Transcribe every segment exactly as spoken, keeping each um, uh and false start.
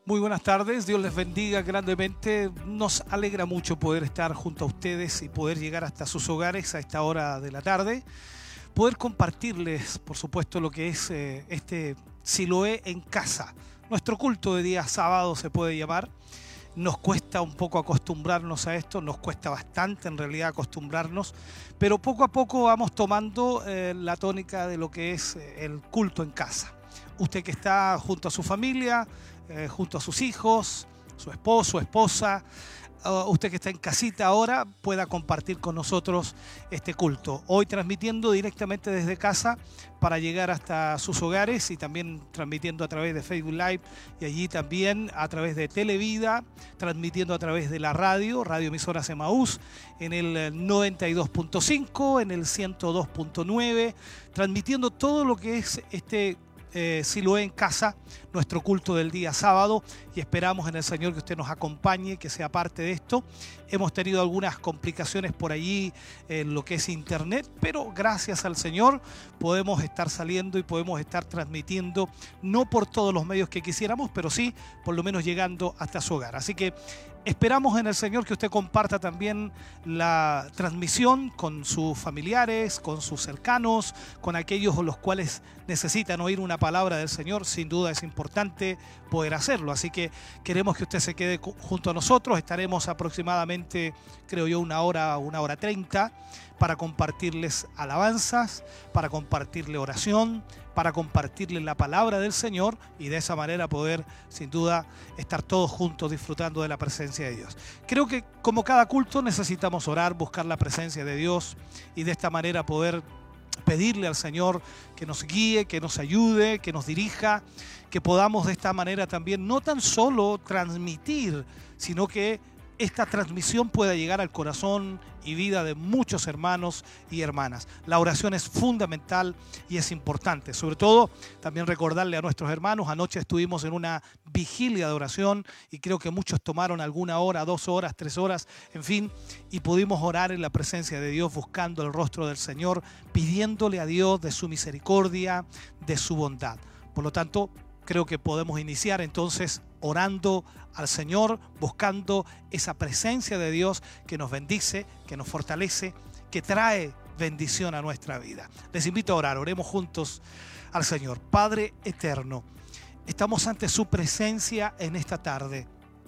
Muy buenas tardes, Dios les bendiga grandemente. Nos alegra mucho poder estar junto a ustedes y poder llegar hasta sus hogares a esta hora de la tarde. Poder compartirles, por supuesto, lo que es eh, este Siloé en casa. Nuestro culto de día sábado se puede llamar. Nos cuesta un poco acostumbrarnos a esto, nos cuesta bastante en realidad acostumbrarnos, pero poco a poco vamos tomando eh, la tónica de lo que es eh, el culto en casa. Usted que está junto a su familia, eh, junto a sus hijos, su esposo, esposa, uh, usted que está en casita ahora, pueda compartir con nosotros este culto. Hoy transmitiendo directamente desde casa para llegar hasta sus hogares y también transmitiendo a través de Facebook Live y allí también a través de Televida, transmitiendo a través de la radio, Radio Emisoras Emaús, en el noventa y dos punto cinco, en el ciento dos punto nueve, transmitiendo todo lo que es este Eh, Siloé en casa, nuestro culto del día sábado, y esperamos en el Señor que usted nos acompañe, que sea parte de esto. Hemos tenido algunas complicaciones por allí en lo que es internet, pero gracias al Señor podemos estar saliendo y podemos estar transmitiendo, no por todos los medios que quisiéramos, pero sí por lo menos llegando hasta su hogar. Así que esperamos en el Señor que usted comparta también la transmisión con sus familiares, con sus cercanos, con aquellos los cuales necesitan oír una palabra del Señor. Sin duda es importante poder hacerlo. Así que queremos que usted se quede junto a nosotros. Estaremos aproximadamente, creo yo, una hora, una hora treinta para compartirles alabanzas, para compartirle oración, para compartirle la palabra del Señor y de esa manera poder, sin duda, estar todos juntos disfrutando de la presencia de Dios. Creo que como cada culto necesitamos orar, buscar la presencia de Dios y de esta manera poder pedirle al Señor que nos guíe, que nos ayude, que nos dirija, que podamos de esta manera también no tan solo transmitir, sino que esta transmisión pueda llegar al corazón y vida de muchos hermanos y hermanas. La oración es fundamental y es importante. Sobre todo, también recordarle a nuestros hermanos, anoche estuvimos en una vigilia de oración y creo que muchos tomaron alguna hora, dos horas, tres horas, en fin, y pudimos orar en la presencia de Dios, buscando el rostro del Señor, pidiéndole a Dios de su misericordia, de su bondad. Por lo tanto, creo que podemos iniciar entonces orando al Señor, buscando esa presencia de Dios que nos bendice, que nos fortalece, que trae bendición a nuestra vida. Les invito a orar, oremos juntos al Señor. Padre eterno, estamos ante su presencia en esta tarde,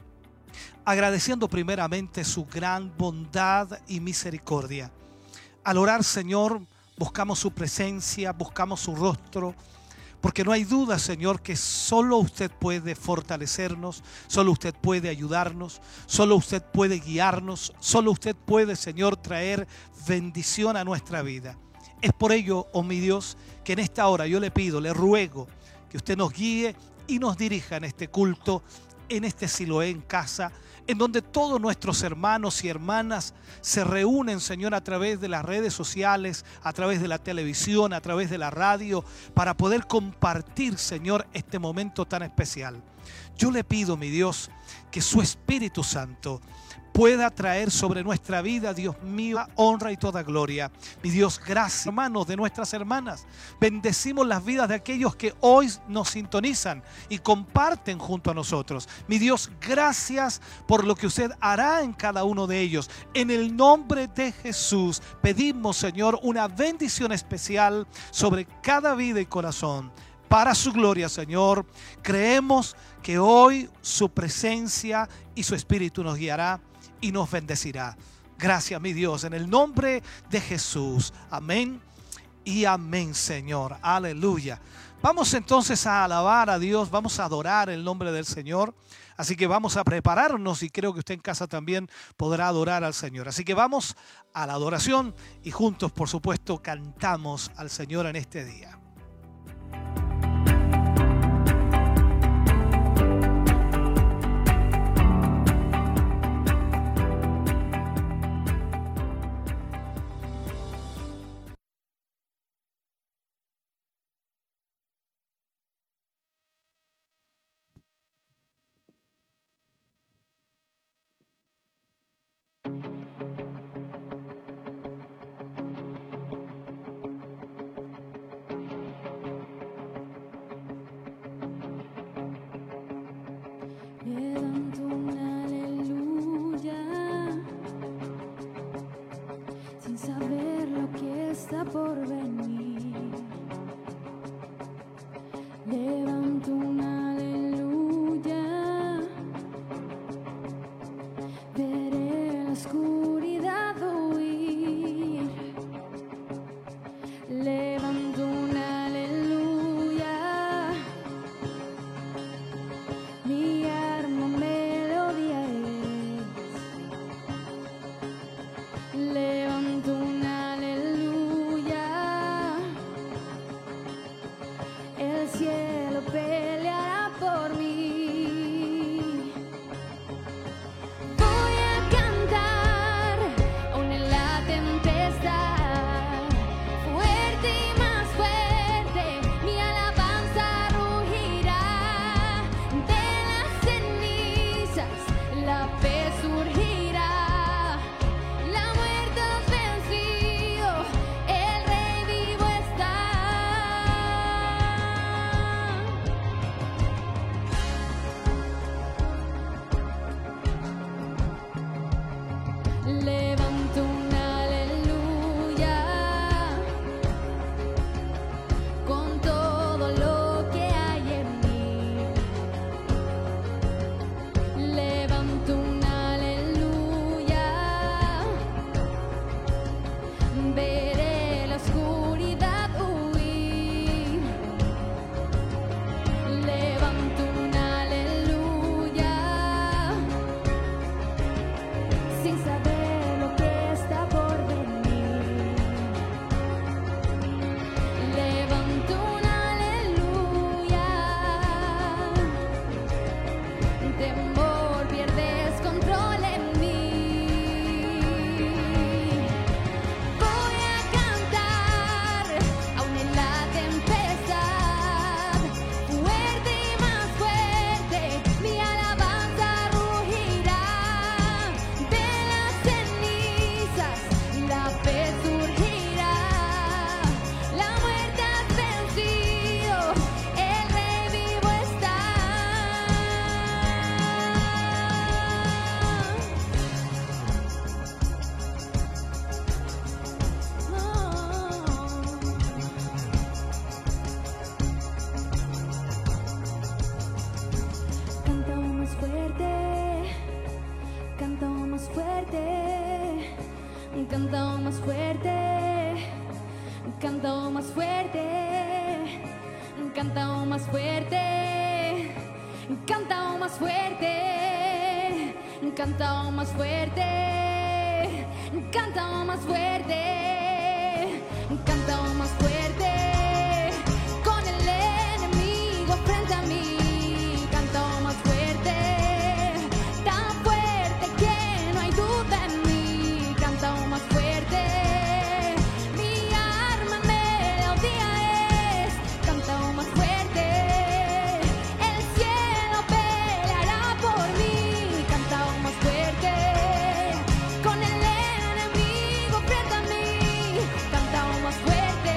agradeciendo primeramente su gran bondad y misericordia. Al orar, Señor, buscamos su presencia, buscamos su rostro, porque no hay duda, Señor, que solo usted puede fortalecernos, solo usted puede ayudarnos, solo usted puede guiarnos, solo usted puede, Señor, traer bendición a nuestra vida. Es por ello, oh mi Dios, que en esta hora yo le pido, le ruego que usted nos guíe y nos dirija en este culto, en este Siloé en casa, en donde todos nuestros hermanos y hermanas se reúnen, Señor, a través de las redes sociales, a través de la televisión, a través de la radio, para poder compartir, Señor, este momento tan especial. Yo le pido, mi Dios, que su Espíritu Santo pueda traer sobre nuestra vida, Dios mío, honra y toda gloria. Mi Dios, gracias, hermanos, de nuestras hermanas. Bendecimos las vidas de aquellos que hoy nos sintonizan y comparten junto a nosotros. Mi Dios, gracias por lo que usted hará en cada uno de ellos. En el nombre de Jesús pedimos, Señor, una bendición especial sobre cada vida y corazón. Para su gloria, Señor, creemos que hoy su presencia y su Espíritu nos guiará y nos bendecirá. Gracias, mi Dios, en el nombre de Jesús. Amén y amén, Señor. Aleluya. Vamos entonces a alabar a Dios, vamos a adorar el nombre del Señor. Así que vamos a prepararnos y creo que usted en casa también podrá adorar al Señor. Así que vamos a la adoración y juntos, por supuesto, cantamos al Señor en este día. cantado más fuerte, cantado más fuerte, cantado más fuerte, cantado más fuerte, con el enemigo frente a mí, cantado más fuerte, tan fuerte que no hay duda en mí, cantado más fuerte, mi arma en melodía es, cantado más fuerte, el cielo peleará por mí, cantado más fuerte, con el enemigo frente a mí, cantado más fuerte.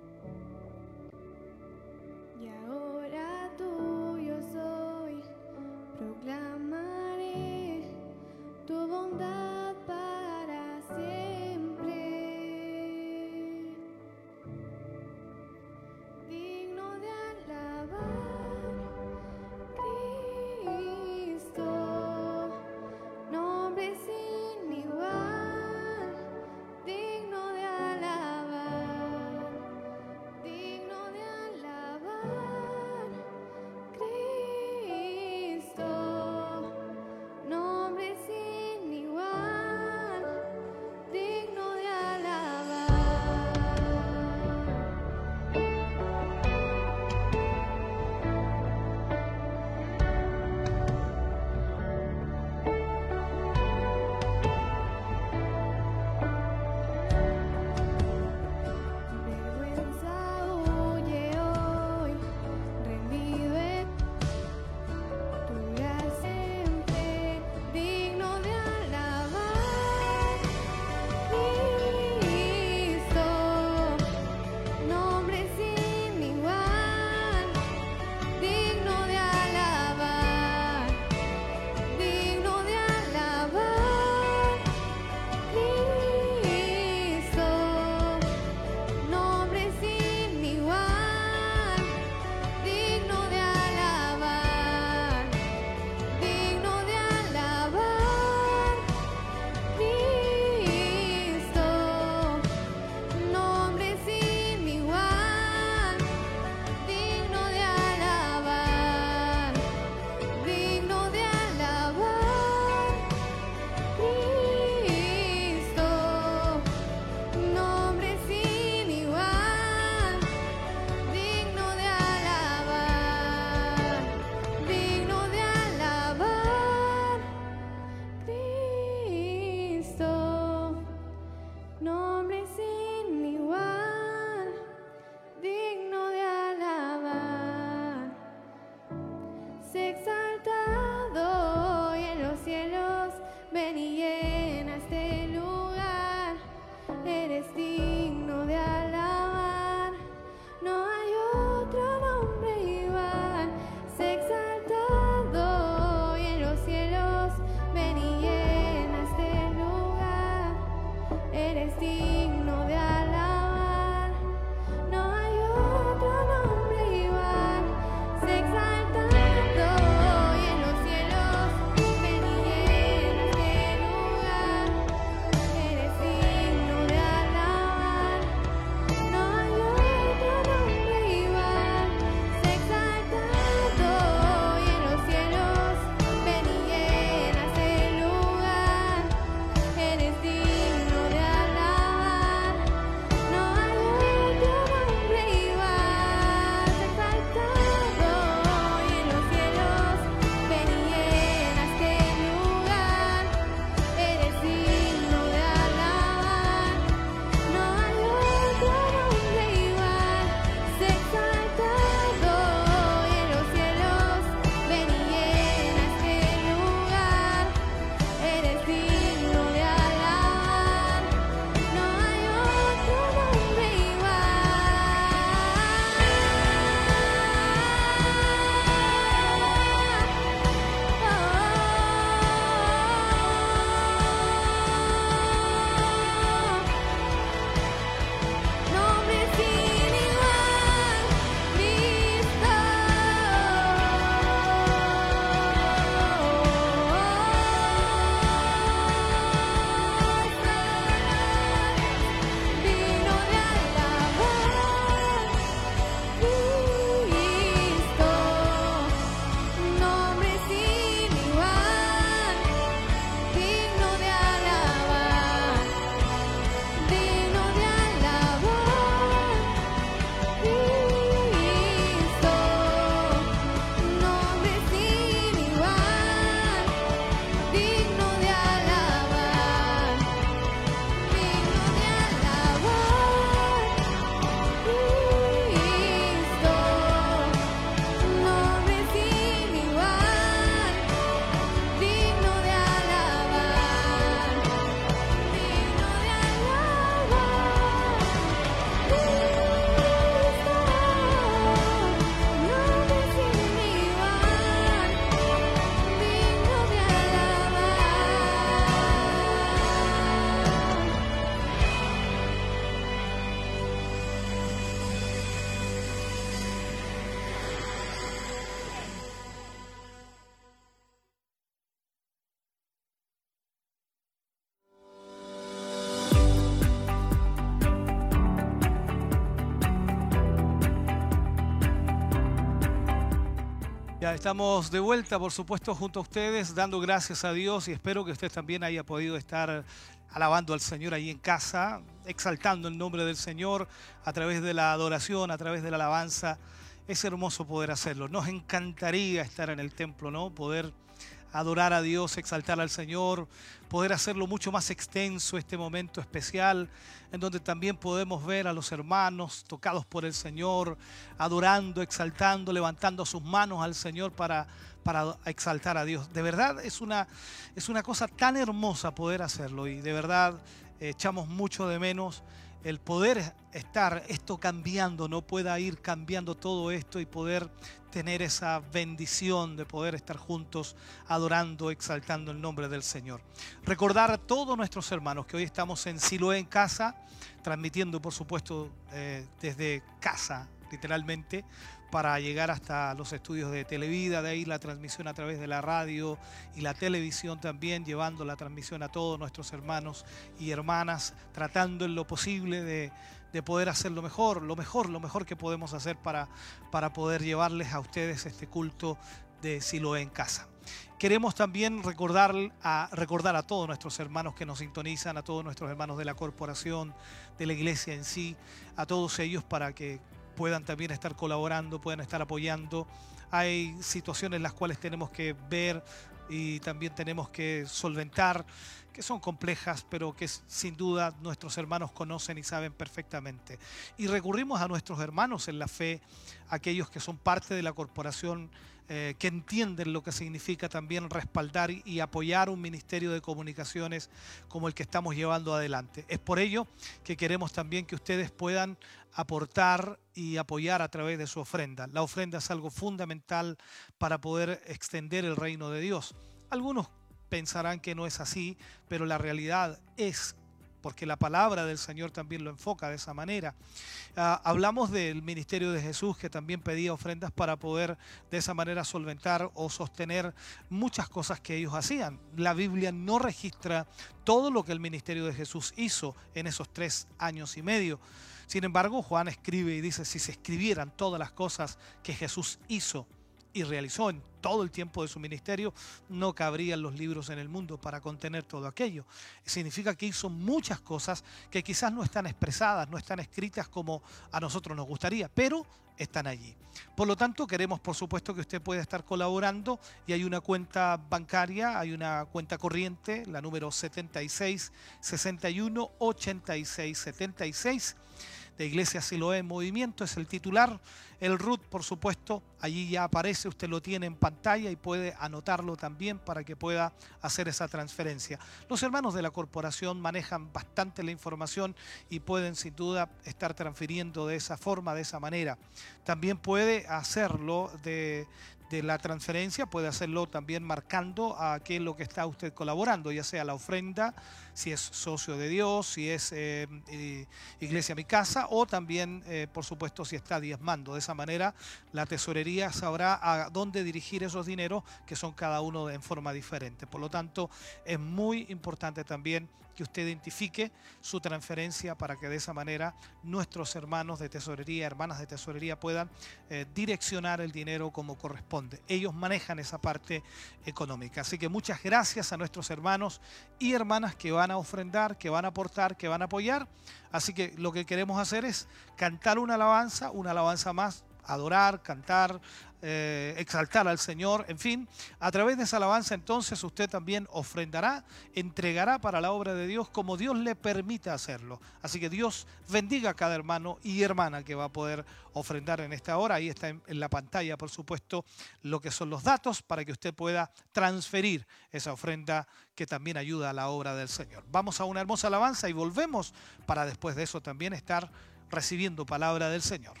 Ya estamos de vuelta, por supuesto, junto a ustedes, dando gracias a Dios y espero que usted también haya podido estar alabando al Señor ahí en casa, exaltando el nombre del Señor a través de la adoración, a través de la alabanza. Es hermoso poder hacerlo. Nos encantaría estar en el templo, ¿no? Poder adorar a Dios, exaltar al Señor, poder hacerlo mucho más extenso este momento especial, en donde también podemos ver a los hermanos tocados por el Señor, adorando, exaltando, levantando sus manos al Señor para, para exaltar a Dios. De verdad es una, es una cosa tan hermosa poder hacerlo y de verdad eh, echamos mucho de menos el poder estar esto cambiando, no pueda ir cambiando todo esto y poder tener esa bendición de poder estar juntos adorando, exaltando el nombre del Señor. Recordar a todos nuestros hermanos que hoy estamos en Siloé en casa, transmitiendo por supuesto eh, desde casa, literalmente, para llegar hasta los estudios de Televida, de ahí la transmisión a través de la radio y la televisión también, llevando la transmisión a todos nuestros hermanos y hermanas, tratando en lo posible de, de poder hacer lo mejor, lo mejor, lo mejor que podemos hacer para, para poder llevarles a ustedes este culto de Siloé en casa. Queremos también recordar a, recordar a todos nuestros hermanos que nos sintonizan, a todos nuestros hermanos de la corporación, de la iglesia en sí, a todos ellos para que puedan también estar colaborando, puedan estar apoyando. Hay situaciones en las cuales tenemos que ver y también tenemos que solventar, que son complejas, pero que sin duda nuestros hermanos conocen y saben perfectamente. Y recurrimos a nuestros hermanos en la fe, aquellos que son parte de la corporación, eh, que entienden lo que significa también respaldar y apoyar un ministerio de comunicaciones como el que estamos llevando adelante. Es por ello que queremos también que ustedes puedan aportar y apoyar a través de su ofrenda. La ofrenda es algo fundamental para poder extender el reino de Dios. Algunos pensarán que no es así, pero la realidad es, porque la palabra del Señor también lo enfoca de esa manera. Uh, hablamos del ministerio de Jesús, que también pedía ofrendas para poder de esa manera solventar o sostener muchas cosas que ellos hacían. La Biblia no registra todo lo que el ministerio de Jesús hizo en esos tres años y medio. Sin embargo, Juan escribe y dice, si se escribieran todas las cosas que Jesús hizo y realizó en todo el tiempo de su ministerio, no cabrían los libros en el mundo para contener todo aquello. Significa que hizo muchas cosas que quizás no están expresadas, no están escritas como a nosotros nos gustaría, pero están allí. Por lo tanto, queremos por supuesto que usted pueda estar colaborando y hay una cuenta bancaria, hay una cuenta corriente, la número setenta y seis, sesenta y uno, ochenta y seis, setenta y seis. De Iglesia Siloé en Movimiento, es el titular. El R U T, por supuesto, allí ya aparece, usted lo tiene en pantalla y puede anotarlo también para que pueda hacer esa transferencia. Los hermanos de la corporación manejan bastante la información y pueden sin duda estar transfiriendo de esa forma, de esa manera. También puede hacerlo de... de la transferencia, puede hacerlo también marcando a qué es lo que está usted colaborando, ya sea la ofrenda, si es socio de Dios, si es eh, eh, Iglesia Mi Casa, o también, eh, por supuesto, si está diezmando. De esa manera, la tesorería sabrá a dónde dirigir esos dineros, que son cada uno en forma diferente. Por lo tanto, es muy importante también que usted identifique su transferencia para que de esa manera nuestros hermanos de tesorería, hermanas de tesorería puedan eh, direccionar el dinero como corresponde. Ellos manejan esa parte económica. Así que muchas gracias a nuestros hermanos y hermanas que van a ofrendar, que van a aportar, que van a apoyar. Así que lo que queremos hacer es cantar una alabanza, una alabanza más, adorar, cantar, eh, exaltar al Señor, en fin. A través de esa alabanza entonces usted también ofrendará, entregará para la obra de Dios como Dios le permita hacerlo. Así que Dios bendiga a cada hermano y hermana que va a poder ofrendar en esta hora. Ahí está en, en la pantalla, por supuesto, lo que son los datos para que usted pueda transferir esa ofrenda que también ayuda a la obra del Señor. Vamos a una hermosa alabanza y volvemos para después de eso también estar recibiendo palabra del Señor.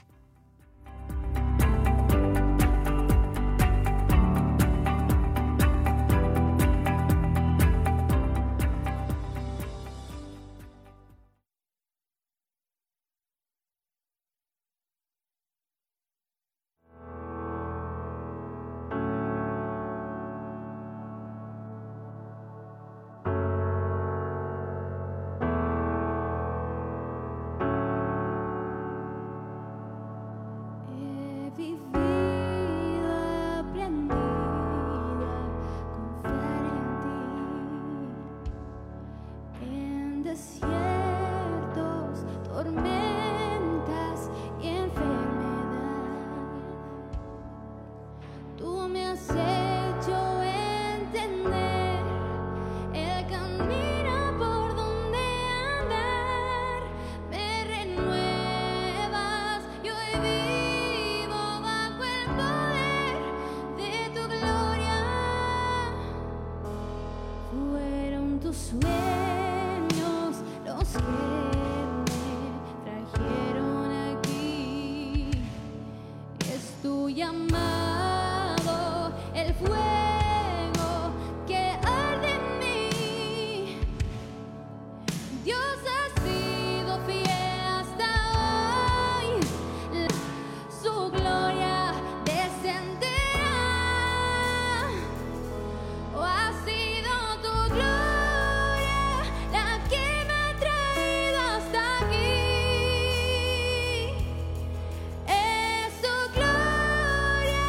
has hecho entender el camino por donde andar. Me renuevas y hoy vivo bajo el poder de tu gloria. Fueron tus sueños los que me trajeron aquí. Es tu llamado, el fuego que arde en mí. Dios ha sido fiel hasta hoy. La- Su gloria descenderá. Oh, ha sido tu gloria la que me ha traído hasta aquí. Es tu gloria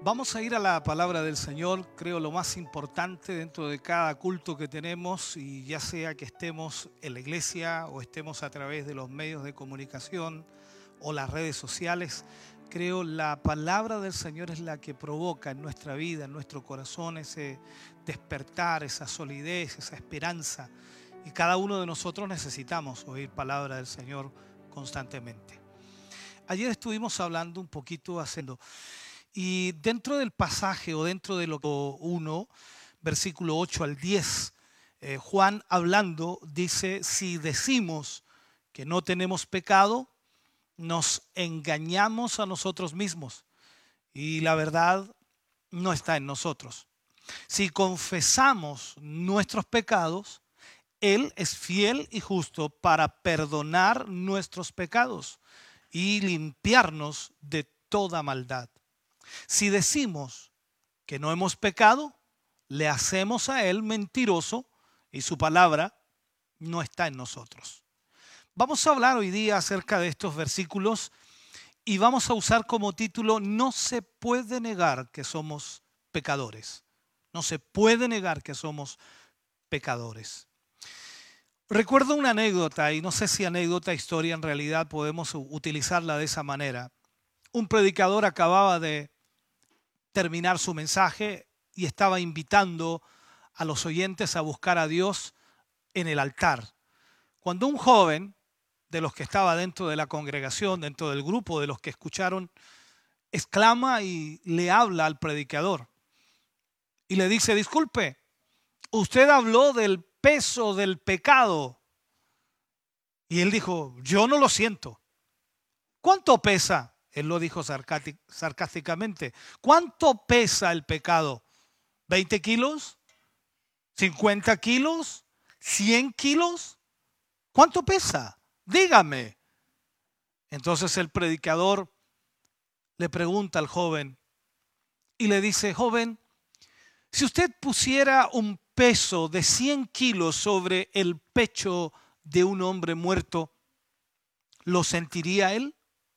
Vamos a ir a la palabra del Señor, creo lo más importante dentro de cada culto que tenemos, y ya sea que estemos en la iglesia o estemos a través de los medios de comunicación o las redes sociales, creo la palabra del Señor es la que provoca en nuestra vida, en nuestro corazón, ese despertar, esa solidez, esa esperanza. Y cada uno de nosotros necesitamos oír palabra del Señor constantemente. Ayer estuvimos hablando un poquito haciendo... Y dentro del pasaje o dentro de lo uno, versículo ocho al diez, eh, Juan hablando dice, si decimos que no tenemos pecado, nos engañamos a nosotros mismos y la verdad no está en nosotros. Si confesamos nuestros pecados, Él es fiel y justo para perdonar nuestros pecados y limpiarnos de toda maldad. Si decimos que no hemos pecado, le hacemos a Él mentiroso y su palabra no está en nosotros. Vamos a hablar hoy día acerca de estos versículos y vamos a usar como título: no se puede negar que somos pecadores. No se puede negar que somos pecadores. Recuerdo una anécdota, y no sé si anécdota, historia, en realidad podemos utilizarla de esa manera. Un predicador acababa de terminar su mensaje y estaba invitando a los oyentes a buscar a Dios en el altar. Cuando un joven de los que estaba dentro de la congregación, dentro del grupo de los que escucharon, exclama y le habla al predicador y le dice: disculpe, usted habló del peso del pecado. Y él dijo: yo no lo siento. ¿Cuánto pesa? Él lo dijo sarcásticamente. ¿Cuánto pesa el pecado? ¿veinte kilos? ¿cincuenta kilos? ¿cien kilos? ¿Cuánto pesa? Dígame. Entonces el predicador le pregunta al joven y le dice: joven, si usted pusiera un peso de cien kilos sobre el pecho de un hombre muerto, ¿lo sentiría él?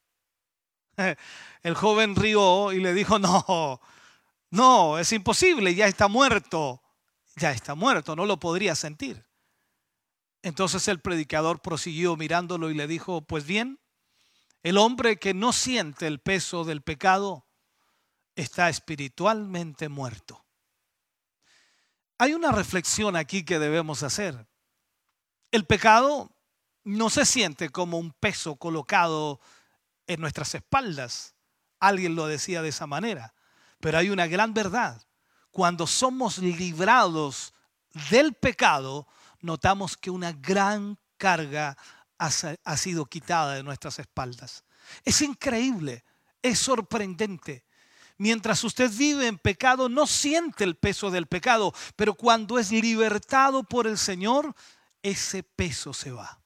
El joven rió y le dijo: no, no, es imposible, ya está muerto, ya está muerto, no lo podría sentir. Entonces el predicador prosiguió mirándolo y le dijo: pues bien, el hombre que no siente el peso del pecado está espiritualmente muerto. Hay una reflexión aquí que debemos hacer. El pecado no se siente como un peso colocado en nuestras espaldas. Alguien lo decía de esa manera. Pero hay una gran verdad. Cuando somos librados del pecado, notamos que una gran carga ha, ha sido quitada de nuestras espaldas. Es increíble, es sorprendente. Mientras usted vive en pecado, no siente el peso del pecado, pero cuando es libertado por el Señor, ese peso se va.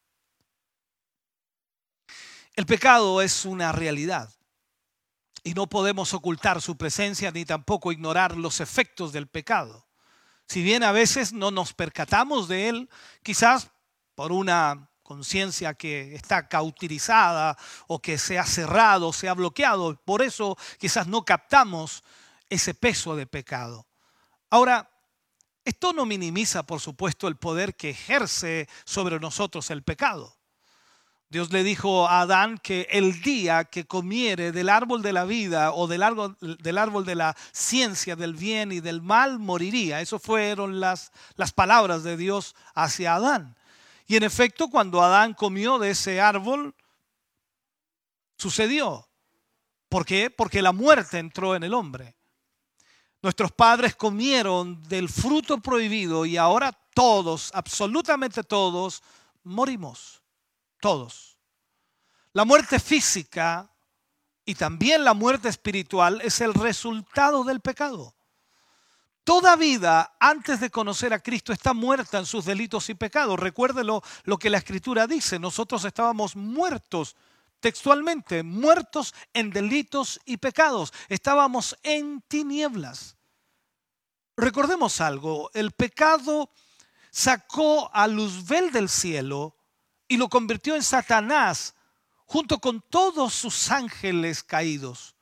El pecado es una realidad y no podemos ocultar su presencia ni tampoco ignorar los efectos del pecado. Si bien a veces no nos percatamos de él, quizás por una conciencia que está cauterizada o que se ha cerrado, se ha bloqueado, por eso quizás no captamos ese peso de pecado. Ahora, esto no minimiza, por supuesto, el poder que ejerce sobre nosotros el pecado. Dios le dijo a Adán que el día que comiere del árbol de la vida o del árbol, del árbol de la ciencia del bien y del mal, moriría. Esas fueron las, las palabras de Dios hacia Adán. Y en efecto, cuando Adán comió de ese árbol, sucedió. ¿Por qué? Porque la muerte entró en el hombre. Nuestros padres comieron del fruto prohibido y ahora todos, absolutamente todos, morimos. Todos. La muerte física y también la muerte espiritual es el resultado del pecado. Toda vida antes de conocer a Cristo está muerta en sus delitos y pecados. Recuérdelo lo que la Escritura dice. Nosotros estábamos muertos, textualmente, muertos en delitos y pecados. Estábamos en tinieblas. Recordemos algo, el pecado sacó a Luzbel del cielo y lo convirtió en Satanás junto con todos sus ángeles caídos.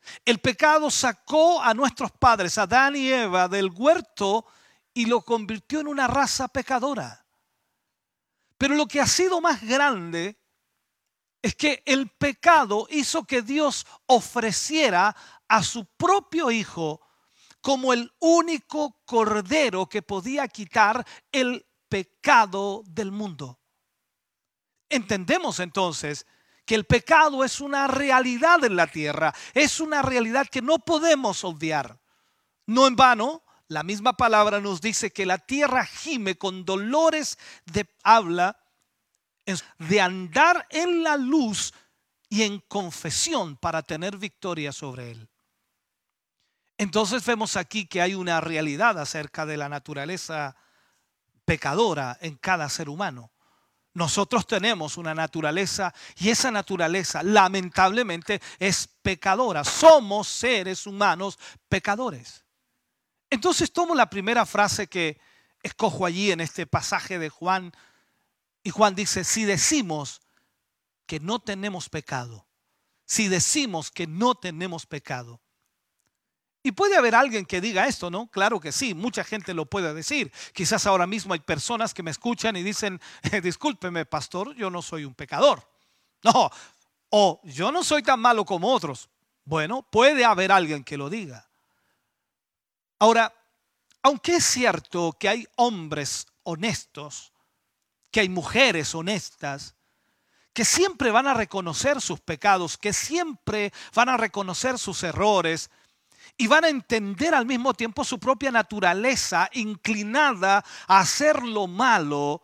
El pecado sacó a nuestros padres, Adán y Eva, del huerto y lo convirtió en una raza pecadora. Pero lo que ha sido más grande es que el pecado hizo que Dios ofreciera a su propio Hijo como el único cordero que podía quitar el pecado del mundo. Entendemos entonces que el pecado es una realidad en la tierra, es una realidad que no podemos obviar. No en vano, la misma palabra nos dice que la tierra gime con dolores de habla, de andar en la luz y en confesión para tener victoria sobre él. Entonces vemos aquí que hay una realidad acerca de la naturaleza pecadora en cada ser humano. Nosotros tenemos una naturaleza y esa naturaleza lamentablemente es pecadora. Somos seres humanos pecadores. Entonces tomo la primera frase que escojo allí en este pasaje de Juan. Y Juan dice, si decimos que no tenemos pecado, si decimos que no tenemos pecado. Y puede haber alguien que diga esto, ¿no? Claro que sí, mucha gente lo puede decir. Quizás ahora mismo hay personas que me escuchan y dicen, eh, discúlpeme, pastor, yo no soy un pecador. No, o yo no soy tan malo como otros. Bueno, puede haber alguien que lo diga. Ahora, aunque es cierto que hay hombres honestos, que hay mujeres honestas, que siempre van a reconocer sus pecados, que siempre van a reconocer sus errores y van a entender al mismo tiempo su propia naturaleza inclinada a hacer lo malo,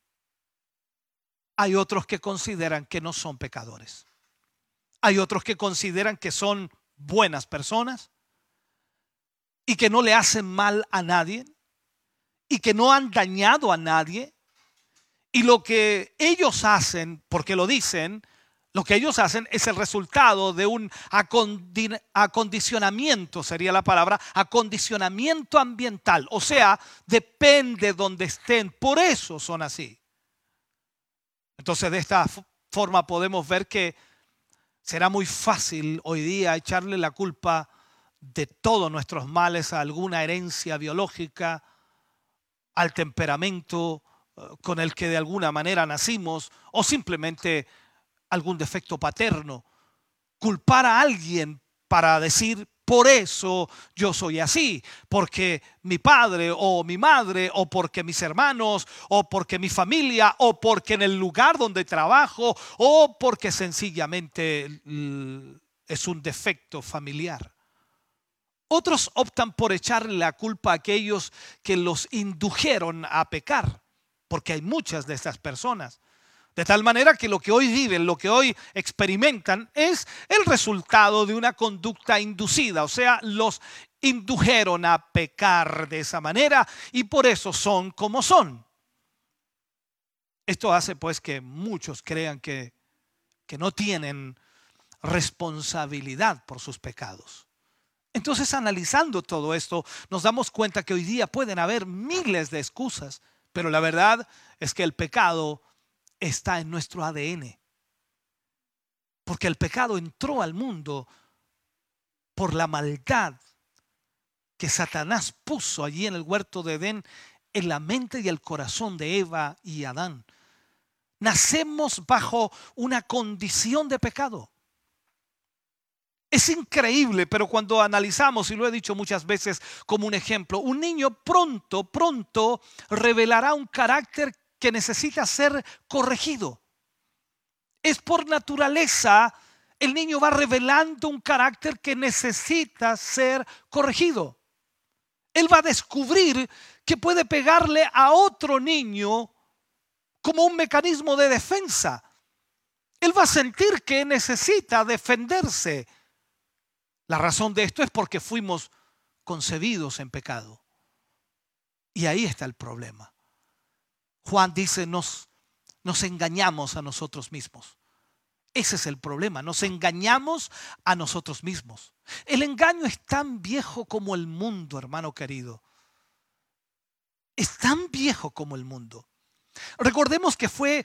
hay otros que consideran que no son pecadores. Hay otros que consideran que son buenas personas y que no le hacen mal a nadie y que no han dañado a nadie. Y lo que ellos hacen, porque lo dicen, lo que ellos hacen es el resultado de un acondi- acondicionamiento, sería la palabra, acondicionamiento ambiental. O sea, depende donde estén, por eso son así. Entonces de esta forma podemos ver que será muy fácil hoy día echarle la culpa de todos nuestros males a alguna herencia biológica, al temperamento con el que de alguna manera nacimos o simplemente algún defecto paterno. Culpar a alguien para decir, por eso yo soy así, porque mi padre o mi madre o porque mis hermanos o porque mi familia o porque en el lugar donde trabajo o porque sencillamente es un defecto familiar. Otros optan por echarle la culpa a aquellos que los indujeron a pecar, porque hay muchas de estas personas. De tal manera que lo que hoy viven, lo que hoy experimentan es el resultado de una conducta inducida. O sea, los indujeron a pecar de esa manera y por eso son como son. Esto hace pues que muchos crean que, que no tienen responsabilidad por sus pecados. Entonces, analizando todo esto, nos damos cuenta que hoy día pueden haber miles de excusas, pero la verdad es que el pecado está en nuestro A D N. Porque el pecado entró al mundo por la maldad que Satanás puso allí en el huerto de Edén en la mente y el corazón de Eva y Adán. Nacemos bajo una condición de pecado. Es increíble, pero cuando analizamos, y lo he dicho muchas veces como un ejemplo, un niño pronto, pronto revelará un carácter que necesita ser corregido. Es por naturaleza, el niño va revelando un carácter que necesita ser corregido. Él va a descubrir que puede pegarle a otro niño como un mecanismo de defensa. Él va a sentir que necesita defenderse. La razón de esto es porque fuimos concebidos en pecado. Y ahí está el problema. Juan dice, nos, nos engañamos a nosotros mismos. Ese es el problema, nos engañamos a nosotros mismos. El engaño es tan viejo como el mundo, hermano querido. Es tan viejo como el mundo. Recordemos que fue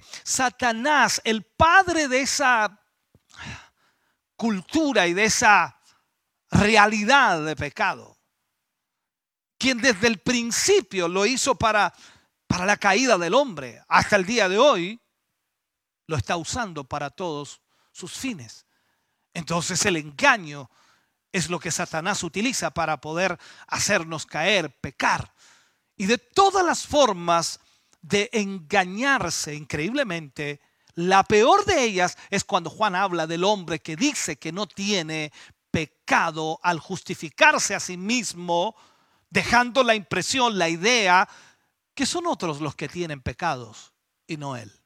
Satanás, el padre de esa cultura y de esa realidad de pecado, quien desde el principio lo hizo para, para la caída del hombre, hasta el día de hoy, lo está usando para todos sus fines. Entonces el engaño es lo que Satanás utiliza para poder hacernos caer, pecar. Y de todas las formas de engañarse, increíblemente, la peor de ellas es cuando Juan habla del hombre que dice que no tiene pecado al justificarse a sí mismo, dejando la impresión, la idea, que son otros los que tienen pecados y no él.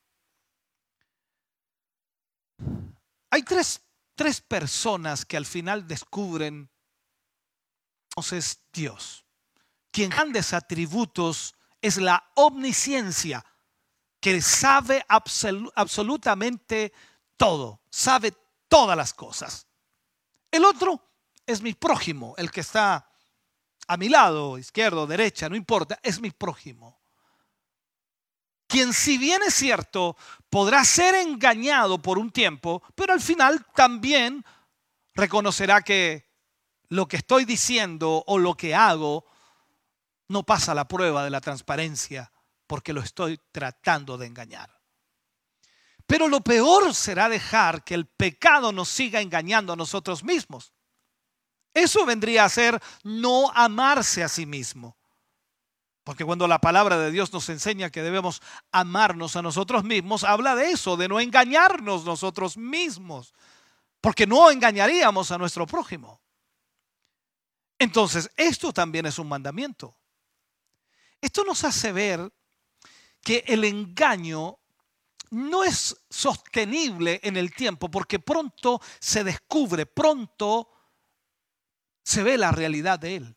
Hay tres, tres personas que al final descubren, entonces, Dios. Quien grandes atributos es la omnisciencia, que sabe absol- absolutamente todo, sabe todas las cosas. El otro es mi prójimo, el que está a mi lado, izquierdo, derecha, no importa, es mi prójimo. Quien, si bien es cierto, podrá ser engañado por un tiempo, pero al final también reconocerá que lo que estoy diciendo o lo que hago no pasa la prueba de la transparencia porque lo estoy tratando de engañar. Pero lo peor será dejar que el pecado nos siga engañando a nosotros mismos. Eso vendría a ser no amarse a sí mismo. Porque cuando la palabra de Dios nos enseña que debemos amarnos a nosotros mismos, habla de eso, de no engañarnos nosotros mismos. Porque no engañaríamos a nuestro prójimo. Entonces, esto también es un mandamiento. Esto nos hace ver que el engaño no es sostenible en el tiempo porque pronto se descubre, pronto se ve la realidad de él.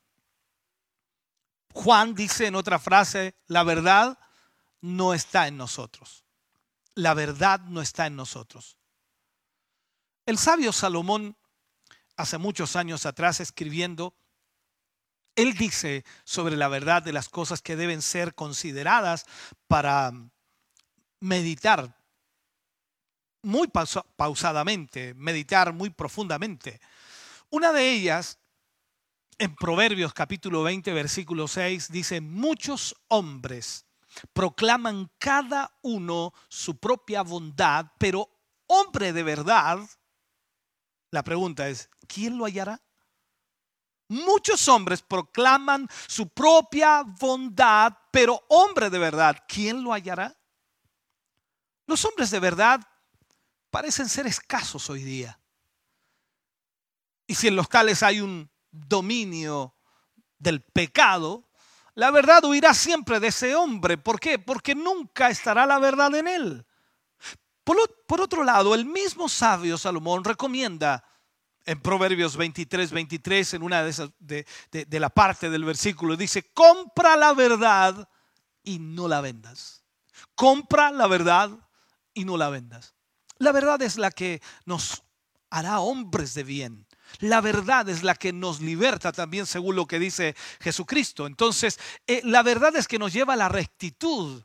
Juan dice en otra frase, la verdad no está en nosotros. La verdad no está en nosotros. El sabio Salomón, hace muchos años atrás escribiendo, él dice sobre la verdad de las cosas que deben ser consideradas para meditar muy pausa- pausadamente, meditar muy profundamente. Una de ellas, en Proverbios capítulo veinte, versículo seis, dice, muchos hombres proclaman cada uno su propia bondad, pero hombre de verdad, la pregunta es, ¿quién lo hallará? Muchos hombres proclaman su propia bondad, pero hombre de verdad, ¿quién lo hallará? Los hombres de verdad parecen ser escasos hoy día. Y si en los tales hay un dominio del pecado, la verdad huirá siempre de ese hombre. ¿Por qué? Porque nunca estará la verdad en él. Por, por otro lado, el mismo sabio Salomón recomienda en Proverbios veintitrés, veintitrés, en una de, esas, de, de, de la parte del versículo, dice, compra la verdad y no la vendas. Compra la verdad y no la vendas. La verdad es la que nos hará hombres de bien. La verdad es la que nos liberta también según lo que dice Jesucristo. Entonces, eh, la verdad es que nos lleva a la rectitud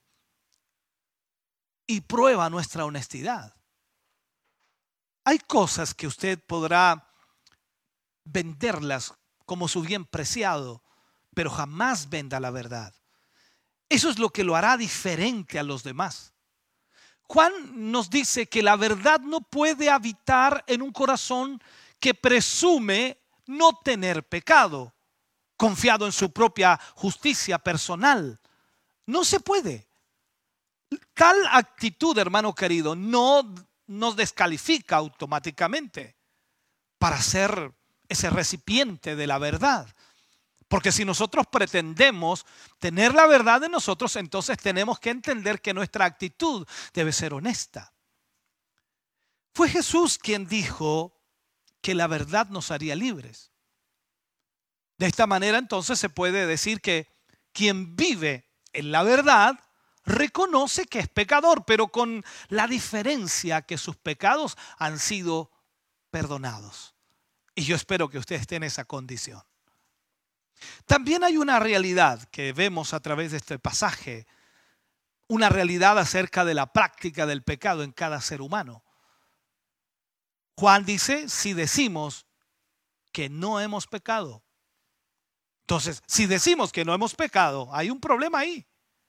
y prueba nuestra honestidad. Hay cosas que usted podrá venderlas como su bien preciado, pero jamás venda la verdad. Eso es lo que lo hará diferente a los demás. Juan nos dice que la verdad no puede habitar en un corazón que presume no tener pecado, confiado en su propia justicia personal. No se puede. Tal actitud, hermano querido, no nos descalifica automáticamente para ser ese recipiente de la verdad. Porque si nosotros pretendemos tener la verdad de nosotros, entonces tenemos que entender que nuestra actitud debe ser honesta. Fue Jesús quien dijo que la verdad nos haría libres. De esta manera entonces se puede decir que quien vive en la verdad reconoce que es pecador, pero con la diferencia que sus pecados han sido perdonados. Y yo espero que usted esté en esa condición. También hay una realidad que vemos a través de este pasaje, una realidad acerca de la práctica del pecado en cada ser humano. Juan dice, si decimos que no hemos pecado. Entonces, si decimos que no hemos pecado, hay un problema ahí.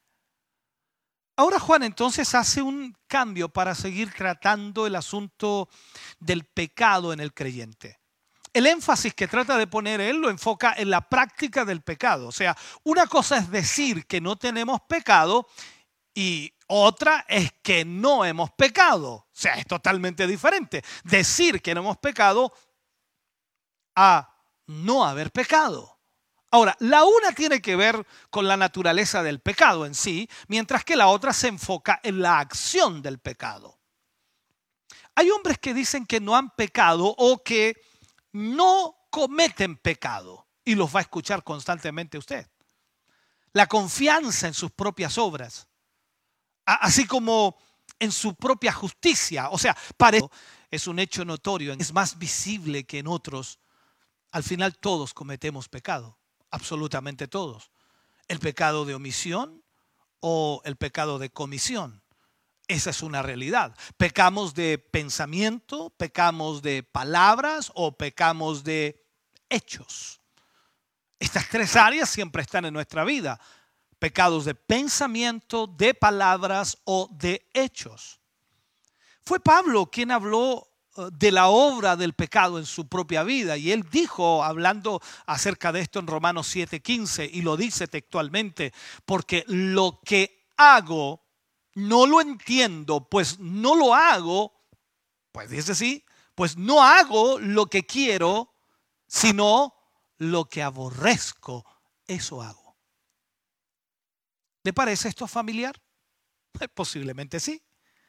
Ahora Juan entonces hace un cambio para seguir tratando el asunto del pecado en el creyente. El énfasis que trata de poner él lo enfoca en la práctica del pecado. O sea, una cosa es decir que no tenemos pecado y otra es que no hemos pecado. O sea, es totalmente diferente. Decir que no hemos pecado a no haber pecado. Ahora, la una tiene que ver con la naturaleza del pecado en sí, mientras que la otra se enfoca en la acción del pecado. Hay hombres que dicen que no han pecado o que no cometen pecado, y los va a escuchar constantemente usted. La confianza en sus propias obras, así como en su propia justicia, o sea, parece es un hecho notorio, es más visible que en otros. Al final todos cometemos pecado. Absolutamente todos. El pecado de omisión o el pecado de comisión. Esa es una realidad. Pecamos de pensamiento, pecamos de palabras o pecamos de hechos. Estas tres áreas siempre están en nuestra vida. Pecados de pensamiento, de palabras o de hechos. Fue Pablo quien habló de la obra del pecado en su propia vida. Y él dijo, hablando acerca de esto en Romanos siete quince, y lo dice textualmente, porque lo que hago no lo entiendo, pues no lo hago, pues dice así, pues no hago lo que quiero, sino lo que aborrezco, eso hago. ¿Le parece esto familiar? Posiblemente sí.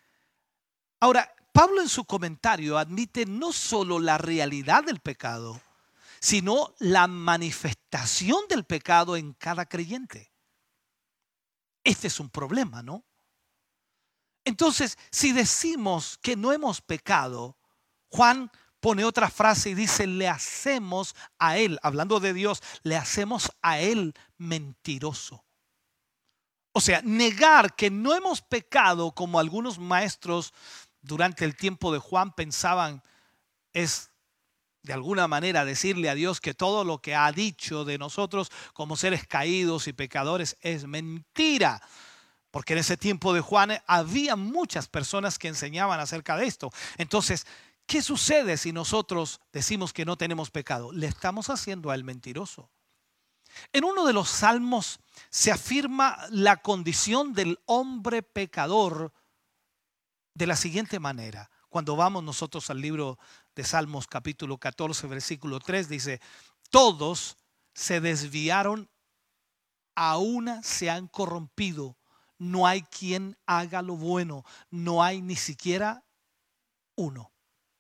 Ahora, Pablo en su comentario admite no solo la realidad del pecado, sino la manifestación del pecado en cada creyente. Este es un problema, ¿no? Entonces, si decimos que no hemos pecado, Juan pone otra frase y dice, le hacemos a él, hablando de Dios, le hacemos a él mentiroso. O sea, negar que no hemos pecado, como algunos maestros durante el tiempo de Juan pensaban, es de alguna manera decirle a Dios que todo lo que ha dicho de nosotros como seres caídos y pecadores es mentira. Porque en ese tiempo de Juan había muchas personas que enseñaban acerca de esto. Entonces, ¿qué sucede si nosotros decimos que no tenemos pecado? Le estamos haciendo a él mentiroso. En uno de los salmos se afirma la condición del hombre pecador de la siguiente manera. Cuando vamos nosotros al libro de Salmos capítulo catorce versículo tres, dice, todos se desviaron, a una se han corrompido, no hay quien haga lo bueno, no hay ni siquiera uno.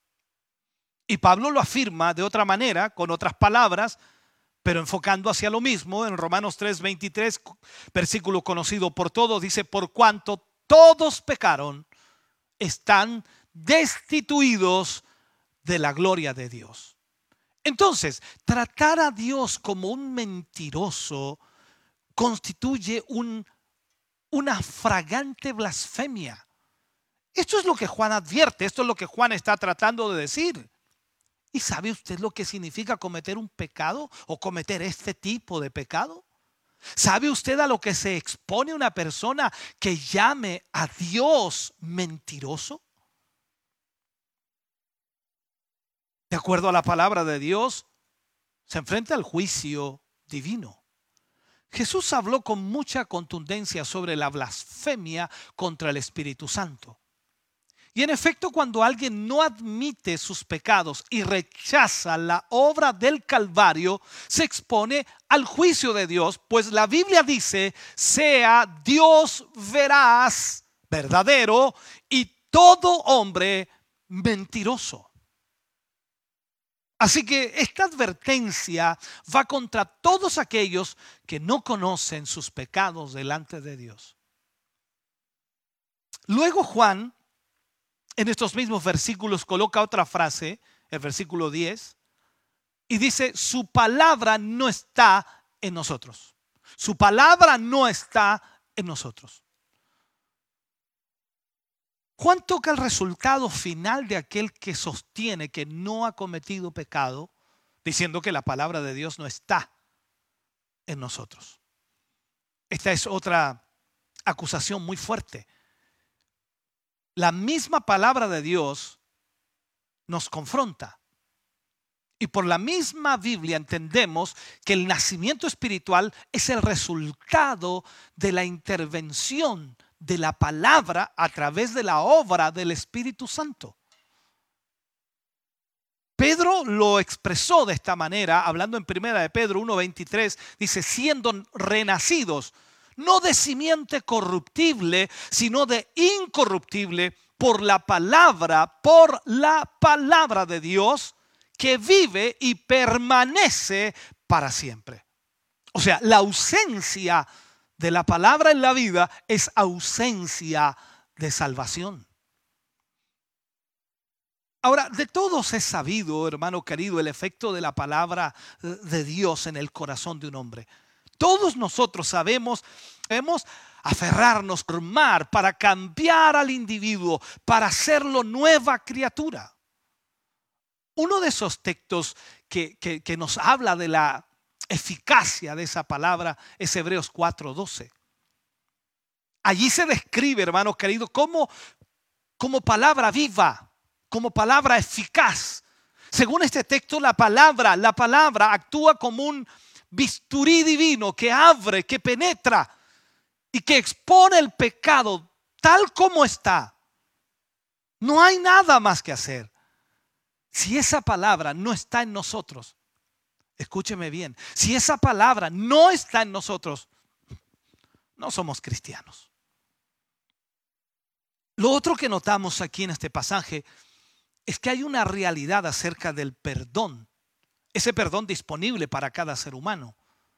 Y Pablo lo afirma de otra manera, con otras palabras, pero enfocando hacia lo mismo. En Romanos tres veintitrés, versículo conocido por todos, dice, por cuanto todos pecaron, están destituidos de la gloria de Dios. Entonces, tratar a Dios como un mentiroso constituye un, una fragante blasfemia. Esto es lo que Juan advierte, esto es lo que Juan está tratando de decir. ¿Y sabe usted lo que significa cometer un pecado o cometer este tipo de pecado? ¿Sabe usted a lo que se expone una persona que llame a Dios mentiroso? De acuerdo a la palabra de Dios, se enfrenta al juicio divino. Jesús habló con mucha contundencia sobre la blasfemia contra el Espíritu Santo. Y en efecto, cuando alguien no admite sus pecados y rechaza la obra del Calvario, se expone al juicio de Dios, pues la Biblia dice, sea Dios veraz, verdadero, y todo hombre mentiroso. Así que esta advertencia va contra todos aquellos que no conocen sus pecados delante de Dios. Luego Juan, en estos mismos versículos, coloca otra frase, el versículo diez, y dice, su palabra no está en nosotros. Su palabra no está en nosotros. Juan toca el resultado final de aquel que sostiene que no ha cometido pecado, diciendo que la palabra de Dios no está en nosotros. Esta es otra acusación muy fuerte. La misma palabra de Dios nos confronta. Y por la misma Biblia entendemos que el nacimiento espiritual es el resultado de la intervención de la palabra a través de la obra del Espíritu Santo. Pedro lo expresó de esta manera, hablando en primera de Pedro uno veintitrés, dice, siendo renacidos, no de simiente corruptible, sino de incorruptible, por la palabra, por la palabra de Dios, que vive y permanece para siempre. O sea, la ausencia de la palabra en la vida es ausencia de salvación. Ahora, de todos es sabido, hermano querido, el efecto de la palabra de Dios en el corazón de un hombre. Todos nosotros sabemos, debemos aferrarnos, formar para cambiar al individuo, para hacerlo nueva criatura. Uno de esos textos que, que, que nos habla de la eficacia de esa palabra es Hebreos cuatro doce. Allí se describe, hermanos queridos, como, como palabra viva, como palabra eficaz. Según este texto, la palabra, la palabra actúa como un bisturí divino que abre, que penetra y que expone el pecado tal como está. No hay nada más que hacer. Si esa palabra no está en nosotros, escúcheme bien, si esa palabra no está en nosotros, no somos cristianos. Lo otro que notamos aquí en este pasaje es que hay una realidad acerca del perdón, ese perdón disponible para cada ser humano.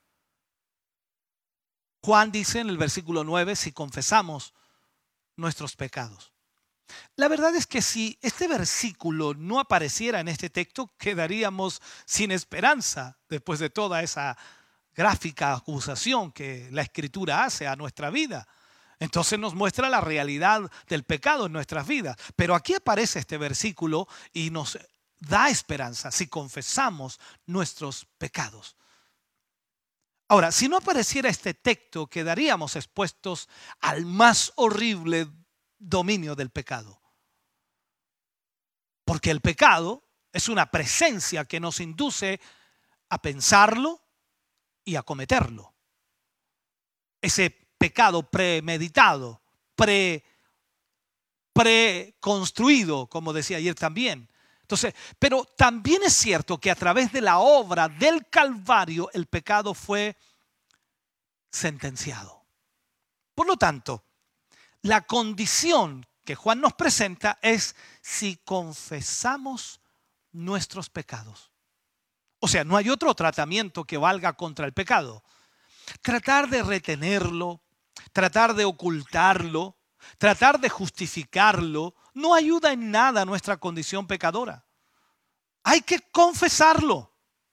Juan dice en el versículo nueve, si confesamos nuestros pecados. La verdad es que si este versículo no apareciera en este texto, quedaríamos sin esperanza después de toda esa gráfica acusación que la Escritura hace a nuestra vida. Entonces nos muestra la realidad del pecado en nuestras vidas. Pero aquí aparece este versículo y nos da esperanza si confesamos nuestros pecados. Ahora, si no apareciera este texto, quedaríamos expuestos al más horrible dominio del pecado. Porque el pecado es una presencia que nos induce a pensarlo y a cometerlo. Ese pecado premeditado, pre, preconstruido, como decía ayer también. Entonces, pero también es cierto que a través de la obra del Calvario el pecado fue sentenciado. Por lo tanto, la condición que Juan nos presenta es si confesamos nuestros pecados. O sea, no hay otro tratamiento que valga contra el pecado. Tratar de retenerlo, tratar de ocultarlo, tratar de justificarlo, no ayuda en nada a nuestra condición pecadora. Hay que confesarlo.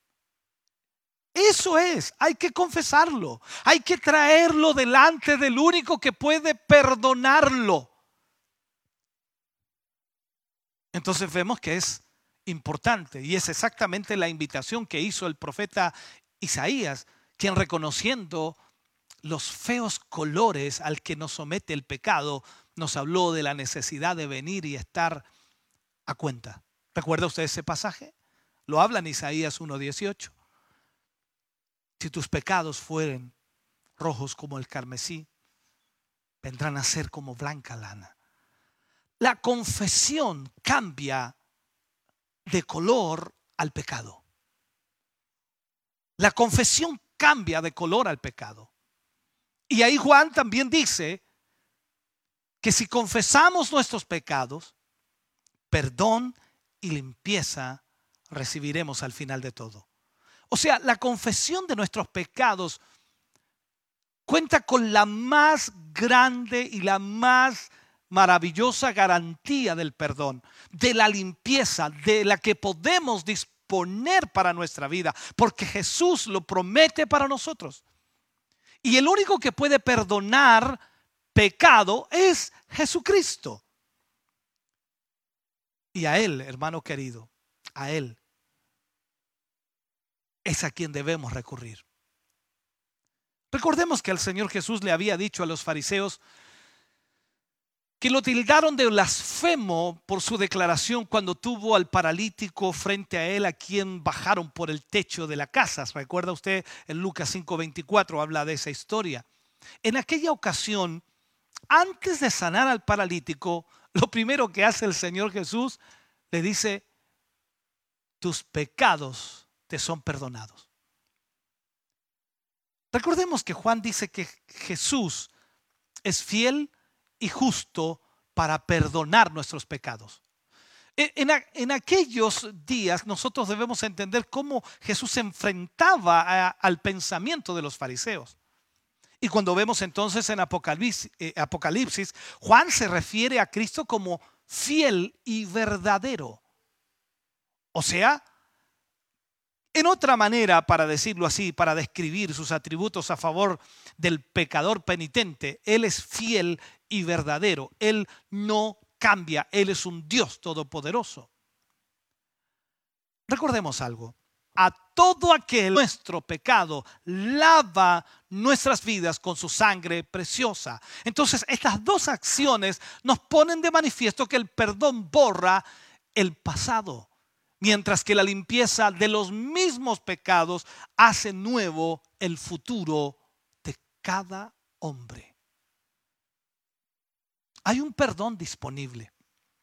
Eso es, hay que confesarlo. Hay que traerlo delante del único que puede perdonarlo. Entonces vemos que es importante y es exactamente la invitación que hizo el profeta Isaías, quien reconociendo los feos colores al que nos somete el pecado, nos habló de la necesidad de venir y estar a cuenta. ¿Recuerda usted ese pasaje? Lo habla en Isaías uno dieciocho. Si tus pecados fueren rojos como el carmesí, vendrán a ser como blanca lana. La confesión cambia de color al pecado. La confesión cambia de color al pecado. Y ahí Juan también dice que si confesamos nuestros pecados, perdón y limpieza recibiremos al final de todo. O sea, la confesión de nuestros pecados cuenta con la más grande y la más maravillosa garantía del perdón, de la limpieza, de la que podemos disponer para nuestra vida, porque Jesús lo promete para nosotros. Y el único que puede perdonar pecado es Jesucristo. Y a Él, hermano querido, a Él es a quien debemos recurrir. Recordemos que el Señor Jesús le había dicho a los fariseos que lo tildaron de blasfemo por su declaración cuando tuvo al paralítico frente a él, a quien bajaron por el techo de la casa. ¿Recuerda usted? En Lucas cinco veinticuatro habla de esa historia. En aquella ocasión, antes de sanar al paralítico, lo primero que hace el Señor Jesús, le dice: tus pecados te son perdonados. Recordemos que Juan dice que Jesús es fiel y justo para perdonar nuestros pecados. En, en aquellos días nosotros debemos entender cómo Jesús se enfrentaba a, al pensamiento de los fariseos. Y cuando vemos entonces en Apocalipsis, eh, Apocalipsis, Juan se refiere a Cristo como fiel y verdadero. O sea, en otra manera, para decirlo así, para describir sus atributos a favor del pecador penitente, Él es fiel y verdadero. Él no cambia. Él es un Dios todopoderoso. Recordemos algo. A todo aquel nuestro pecado lava nuestras vidas con su sangre preciosa. Entonces, estas dos acciones nos ponen de manifiesto que el perdón borra el pasado, mientras que la limpieza de los mismos pecados hace nuevo el futuro de cada hombre. Hay un perdón disponible.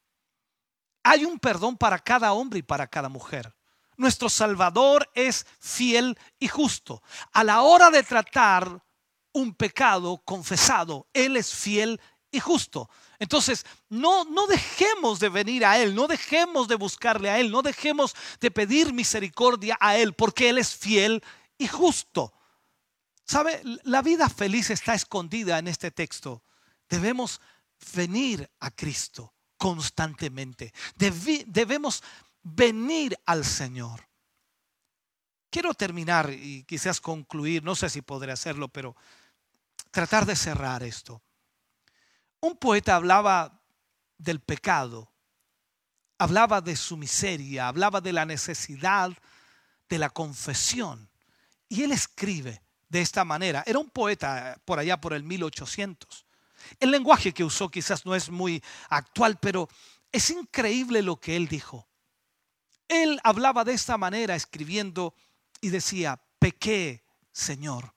Hay un perdón para cada hombre y para cada mujer. Nuestro Salvador es fiel y justo. A la hora de tratar un pecado confesado, Él es fiel y justo. Entonces, no, no dejemos de venir a Él, no dejemos de buscarle a Él, no dejemos de pedir misericordia a Él, porque Él es fiel y justo. ¿Sabe? La vida feliz está escondida en este texto. Debemos venir a Cristo constantemente. Debe, debemos venir al Señor. Quiero terminar y quizás concluir, no sé si podré hacerlo, pero tratar de cerrar esto. Un poeta hablaba del pecado, hablaba de su miseria, hablaba de la necesidad de la confesión. Y él escribe de esta manera. Era un poeta por allá por el mil ochocientos. El lenguaje que usó quizás no es muy actual, pero es increíble lo que él dijo. Él hablaba de esta manera escribiendo y decía: pequé, Señor,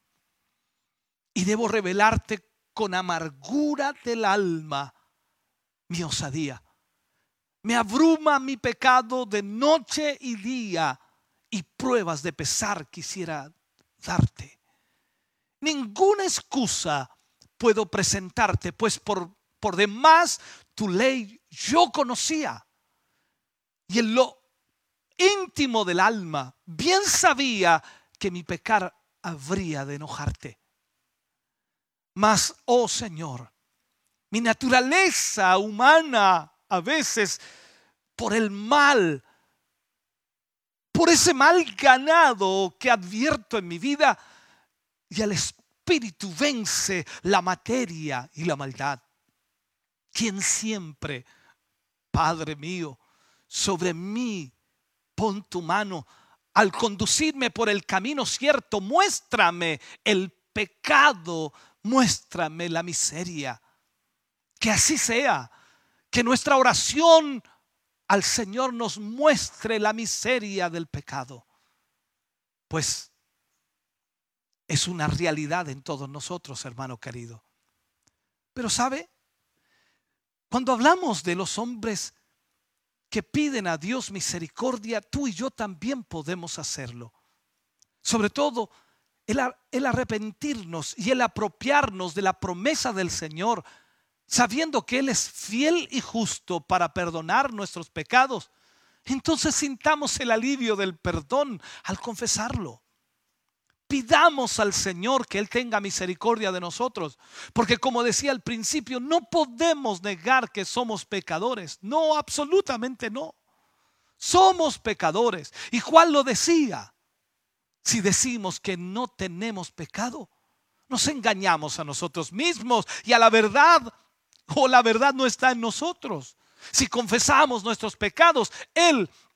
y debo revelarte con amargura del alma mi osadía. Me abruma mi pecado de noche y día, y pruebas de pesar quisiera darte. Ninguna excusa puedo presentarte, pues por, por demás tu ley yo conocía, y en lo íntimo del alma bien sabía que mi pecar habría de enojarte. Mas, oh Señor, mi naturaleza humana a veces por el mal, por ese mal ganado que advierto en mi vida, y el espíritu vence la materia y la maldad. Quien siempre, Padre mío, sobre mí pon tu mano al conducirme por el camino cierto. Muéstrame el pecado, muéstrame la miseria. Que así sea, que nuestra oración al Señor nos muestre la miseria del pecado, pues es una realidad en todos nosotros, hermano querido. Pero ¿sabe? Cuando hablamos de los hombres que piden a Dios misericordia, tú y yo también podemos hacerlo. Sobre todo el, el arrepentirnos y el apropiarnos de la promesa del Señor, sabiendo que Él es fiel y justo para perdonar nuestros pecados. Entonces sintamos el alivio del perdón al confesarlo. Pidamos al Señor que Él tenga misericordia de nosotros, porque como decía al principio, no podemos negar que somos pecadores. No, absolutamente no. Somos pecadores. ¿Y Juan lo decía? Si decimos que no tenemos pecado, nos engañamos a nosotros mismos y a la verdad, o la verdad no está en nosotros. Si confesamos nuestros pecados, Él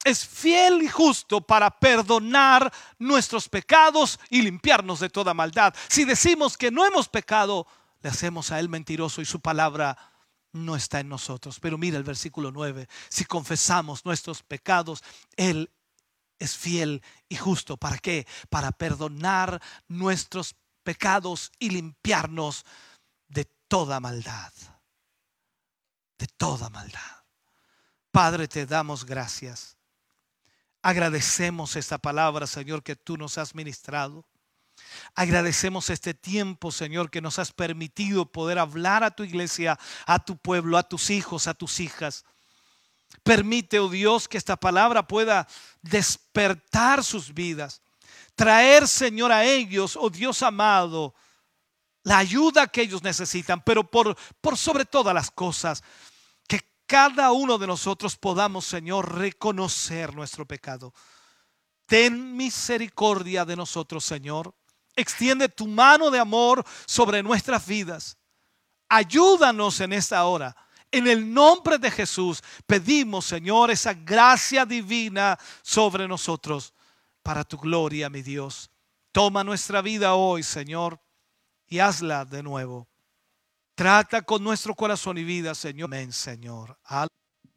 es fiel y justo para perdonar nuestros pecados y limpiarnos de toda maldad. Si decimos que no hemos pecado, le hacemos a Él mentiroso y su palabra no está en nosotros. Pero mira el versículo nueve. Si confesamos nuestros pecados, Él es fiel y justo. ¿Para qué? Para perdonar nuestros pecados y limpiarnos de toda maldad. De toda maldad. Padre, te damos gracias. Agradecemos esta palabra, Señor, que tú nos has ministrado. Agradecemos este tiempo, Señor, que nos has permitido poder hablar a tu iglesia, a tu pueblo, a tus hijos, a tus hijas. Permite, oh Dios, que esta palabra pueda despertar sus vidas. Traer, Señor, a ellos, oh Dios amado, la ayuda que ellos necesitan. Pero por, por sobre todas las cosas, que cada uno de nosotros podamos, Señor, reconocer nuestro pecado. Ten misericordia de nosotros, Señor. Extiende tu mano de amor sobre nuestras vidas. Ayúdanos en esta hora. En el nombre de Jesús pedimos, Señor, esa gracia divina sobre nosotros para tu gloria, mi Dios. Toma nuestra vida hoy, Señor, y hazla de nuevo. Trata con nuestro corazón y vida, Señor. Amén, Señor. Aleluya.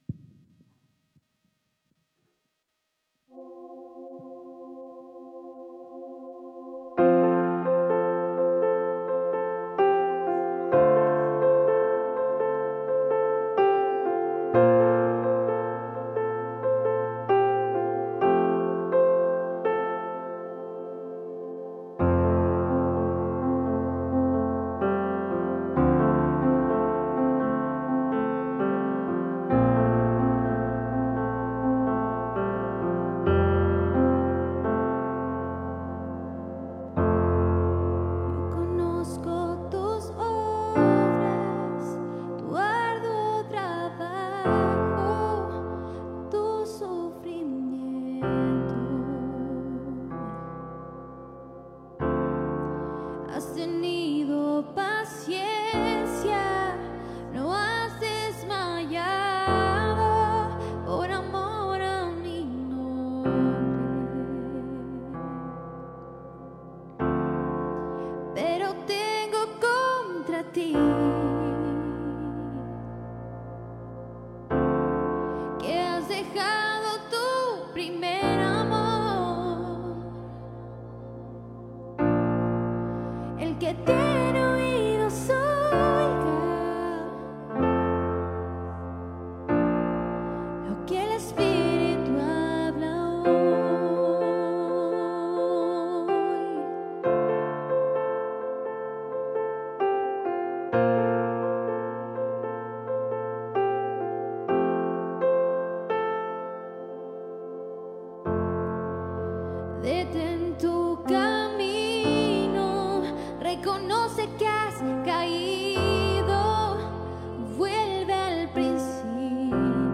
Detén tu camino, reconoce que has caído, vuelve al principio.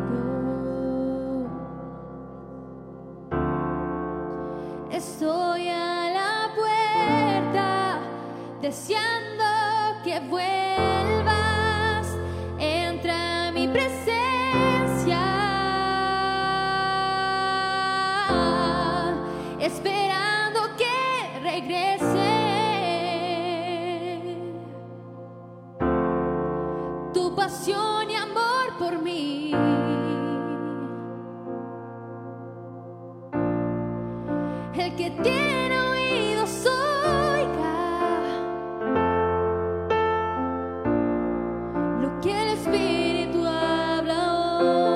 Estoy a la puerta, deseando que vuelvas, entra a mi presencia. Esperando que regrese tu pasión y amor por mí. El que tiene oídos oiga lo que el Espíritu habla hoy.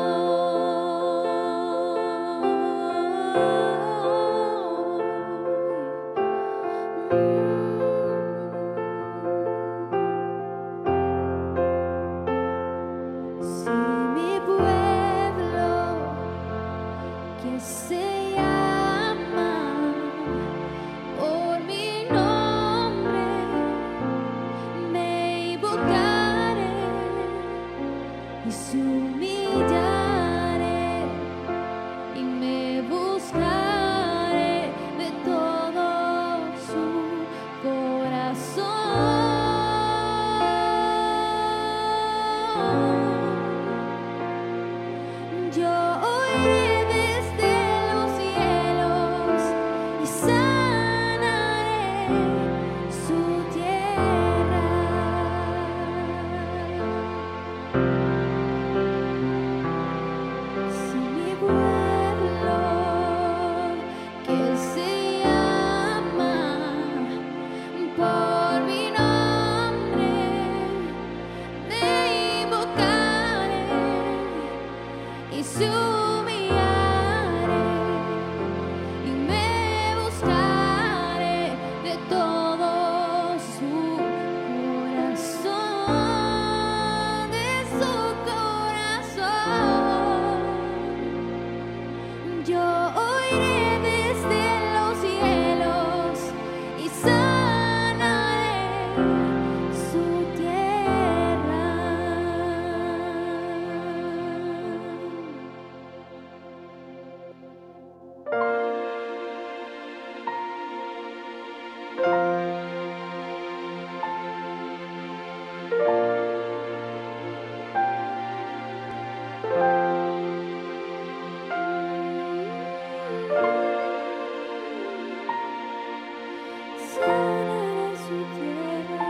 Sanaré su tierra.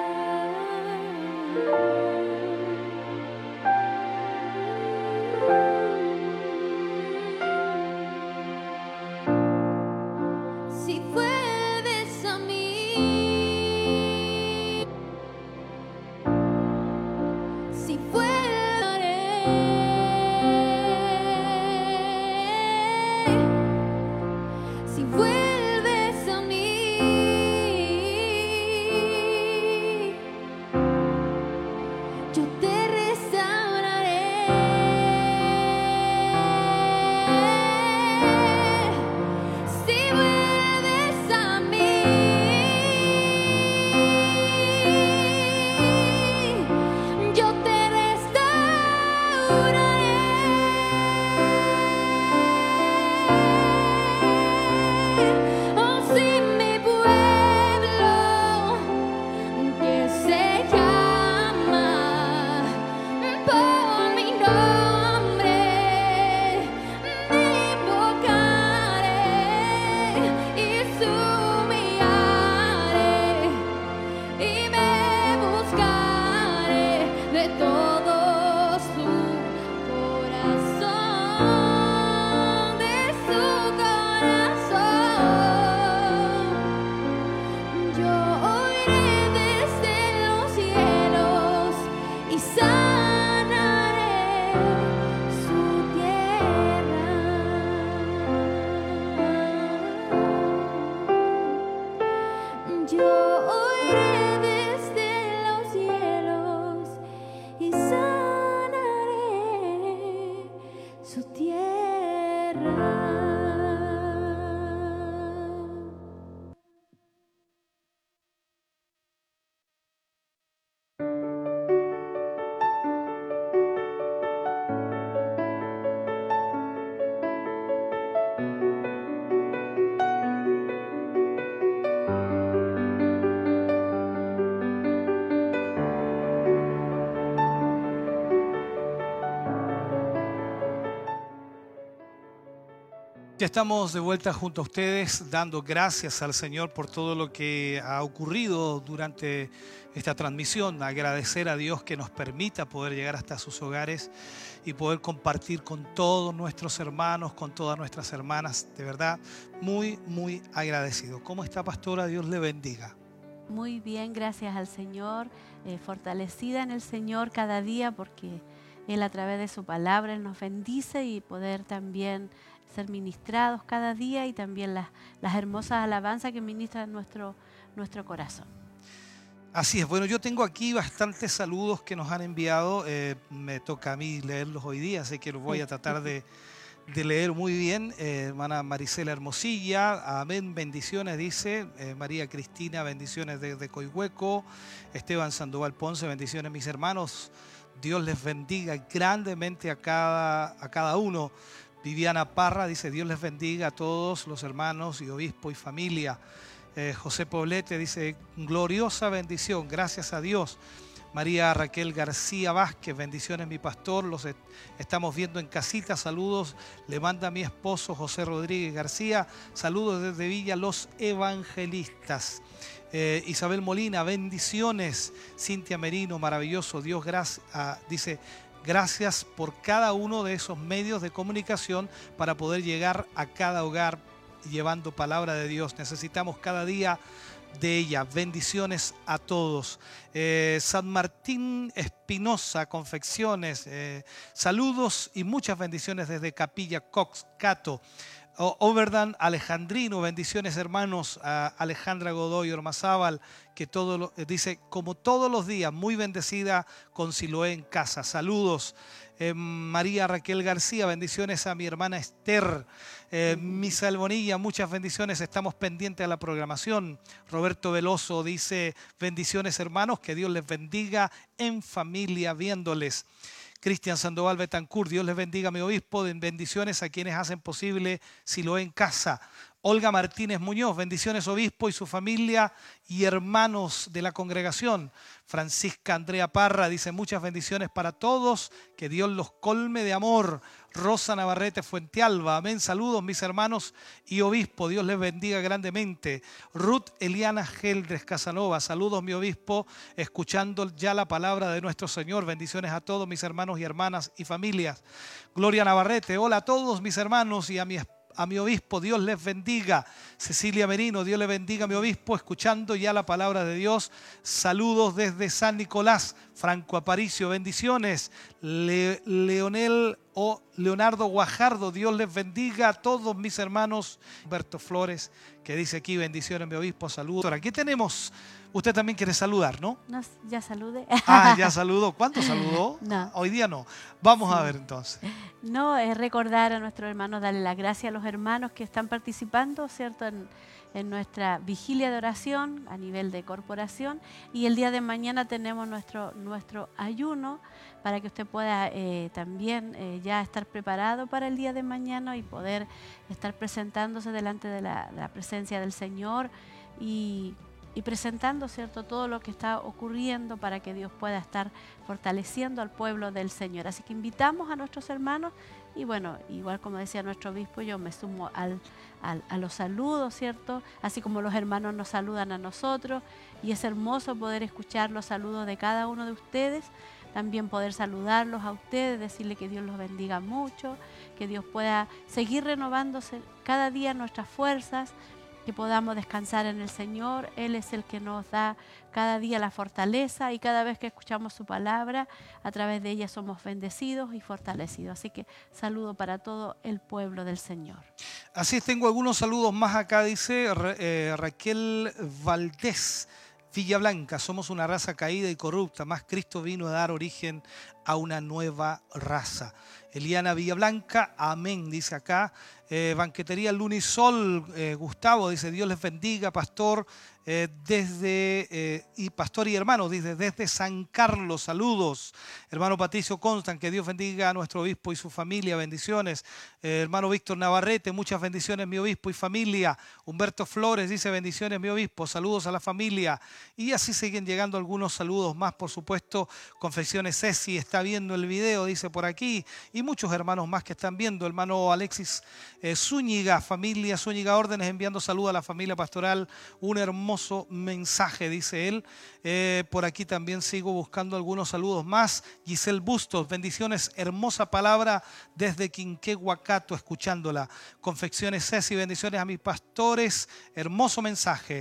Si vuelves a mí, si vuelvaré, si vuelves a mí, yo te restauraré. Si vuelves a mí, yo te restauraré. Oh, si mi pueblo que se llama por mi nombre me invocaré y sumiré y me buscaré de todo su corazón, de su corazón. Yo oiré desde los cielos y sanaré su tierra. Yo oiré desde los cielos y sanaré su tierra. Ya estamos de vuelta junto a ustedes, dando gracias al Señor por todo lo que ha ocurrido durante esta transmisión. Agradecer a Dios que nos permita poder llegar hasta sus hogares y poder compartir con todos nuestros hermanos, con todas nuestras hermanas. De verdad, muy, muy agradecido. ¿Cómo está, pastora? Dios le bendiga. Muy bien, gracias al Señor, eh, fortalecida en el Señor cada día, porque Él a través de su palabra Él nos bendice, y poder también ser ministrados cada día, y también las, las hermosas alabanzas que ministran nuestro, nuestro corazón. Así es. Bueno, yo tengo aquí bastantes saludos que nos han enviado. Eh, me toca a mí leerlos hoy día, así que los voy a tratar de, de leer muy bien. Eh, hermana Marisela Hermosilla, amén, bendiciones, dice. Eh, María Cristina, bendiciones desde Coihueco. Esteban Sandoval Ponce, bendiciones, mis hermanos. Dios les bendiga grandemente a cada, a cada uno. Viviana Parra dice: Dios les bendiga a todos los hermanos y obispo y familia. Eh, José Poblete dice: gloriosa bendición, gracias a Dios. María Raquel García Vázquez, bendiciones mi pastor, los est estamos viendo en casita, saludos, le manda a mi esposo José Rodríguez García, saludos desde Villa Los Evangelistas. Eh, Isabel Molina, bendiciones. Cintia Merino, maravilloso, Dios gracias, ah, dice: gracias por cada uno de esos medios de comunicación para poder llegar a cada hogar llevando palabra de Dios. Necesitamos cada día de ella. Bendiciones a todos. Eh, San Martín Espinosa, confecciones. Eh, saludos y muchas bendiciones desde Capilla Cox, Cato. Overdan Alejandrino, bendiciones hermanos. A Alejandra Godoy Ormazábal, que todo lo, dice: como todos los días, muy bendecida con Siloé en casa. Saludos. Eh, María Raquel García, bendiciones a mi hermana Esther. Eh, Misael Bonilla, muchas bendiciones, estamos pendientes a la programación. Roberto Veloso dice: bendiciones hermanos, que Dios les bendiga en familia viéndoles. Cristian Sandoval Betancourt, Dios les bendiga mi obispo, bendiciones a quienes hacen posible Siloé en casa. Olga Martínez Muñoz, bendiciones obispo y su familia y hermanos de la congregación. Francisca Andrea Parra dice muchas bendiciones para todos, que Dios los colme de amor. Rosa Navarrete Fuentealba, amén, saludos mis hermanos y obispo, Dios les bendiga grandemente. Ruth Eliana Geldres Casanova, saludos mi obispo, escuchando ya la palabra de nuestro Señor, bendiciones a todos mis hermanos y hermanas y familias. Gloria Navarrete, hola a todos mis hermanos y a mi esposa, a mi obispo, Dios les bendiga. Cecilia Merino, Dios le bendiga a mi obispo, escuchando ya la palabra de Dios. Saludos desde San Nicolás. Franco Aparicio, bendiciones. Le, Leonel o Leonardo Guajardo, Dios les bendiga a todos mis hermanos. Humberto Flores, que dice aquí, bendiciones mi obispo, saludos. Ahora, aquí tenemos, usted también quiere saludar, ¿no? No, ya saludé. Ah, ya saludó. ¿Cuánto saludó? No. Hoy día no. Vamos Sí. a ver entonces. No, es recordar a nuestros hermanos, darle las gracias a los hermanos que están participando, ¿cierto?, en, en nuestra vigilia de oración a nivel de corporación. Y el día de mañana tenemos nuestro, nuestro ayuno para que usted pueda eh, también eh, ya estar preparado para el día de mañana y poder estar presentándose delante de la, de la presencia del Señor y y presentando, ¿cierto?, todo lo que está ocurriendo para que Dios pueda estar fortaleciendo al pueblo del Señor. Así que invitamos a nuestros hermanos y bueno, igual como decía nuestro obispo, yo me sumo al, al, a los saludos, ¿cierto?, así como los hermanos nos saludan a nosotros y es hermoso poder escuchar los saludos de cada uno de ustedes, también poder saludarlos a ustedes, decirle que Dios los bendiga mucho, que Dios pueda seguir renovándose cada día nuestras fuerzas, que podamos descansar en el Señor. Él es el que nos da cada día la fortaleza y cada vez que escuchamos su palabra, a través de ella somos bendecidos y fortalecidos. Así que saludo para todo el pueblo del Señor. Así es, tengo algunos saludos más acá, dice Ra- eh, Raquel Valdés. Villa Blanca, somos una raza caída y corrupta, más Cristo vino a dar origen a una nueva raza. Eliana Villablanca, amén, dice acá. Eh, Banquetería Lunisol, eh, Gustavo, dice, Dios les bendiga, pastor, eh, desde, eh, y pastor y hermano, dice, desde San Carlos, saludos. Hermano Patricio Constant, que Dios bendiga a nuestro obispo y su familia, bendiciones. Eh, hermano Víctor Navarrete, muchas bendiciones, mi obispo y familia. Humberto Flores dice, bendiciones, mi obispo, saludos a la familia. Y así siguen llegando algunos saludos más, por supuesto. Confecciones Ceci está viendo el video, dice por aquí, y muchos hermanos más que están viendo. Hermano Alexis eh, Zúñiga, familia Zúñiga Órdenes, enviando saludos a la familia pastoral. Un hermoso mensaje, dice él. Eh, por aquí también sigo buscando algunos saludos más. Giselle Bustos, bendiciones, hermosa palabra desde Quinquehuacato, escuchándola. Confecciones Ceci, bendiciones a mis pastores, hermoso mensaje.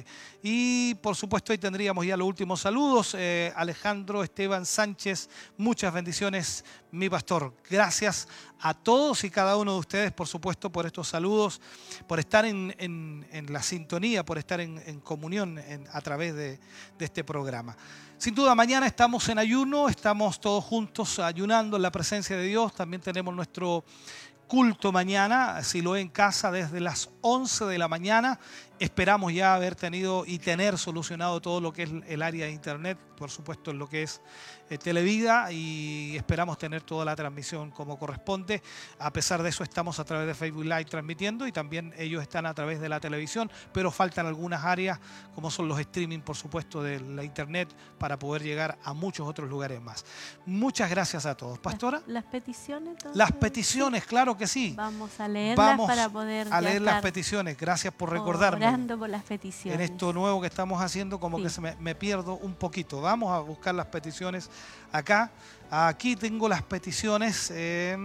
Y por supuesto ahí tendríamos ya los últimos saludos. Eh, Alejandro Esteban Sánchez, muchas bendiciones, mi pastor. Gracias a todos y cada uno de ustedes, por supuesto, por estos saludos, por estar en, en, en la sintonía, por estar en, en comunión en, a través de, de este programa. Sin duda, mañana estamos en ayuno, estamos todos juntos ayunando en la presencia de Dios. También tenemos nuestro culto mañana, si lo en casa, desde las once de la mañana. Esperamos ya haber tenido y tener solucionado todo lo que es el área de internet, por supuesto en lo que es eh, Televida, y esperamos tener toda la transmisión como corresponde. A pesar de eso estamos a través de Facebook Live transmitiendo y también ellos están a través de la televisión, pero faltan algunas áreas como son los streaming, por supuesto, de la internet para poder llegar a muchos otros lugares más. Muchas gracias a todos. Pastora. Las, las peticiones. Entonces, Las peticiones, sí. Claro que sí. Vamos a leerlas Vamos para poder a leer las estar peticiones. Gracias por recordarme. orando por las peticiones. En esto nuevo que estamos haciendo, como Sí. que se me, me pierdo un poquito. Vamos a buscar las peticiones acá. Aquí tengo las peticiones. Eh,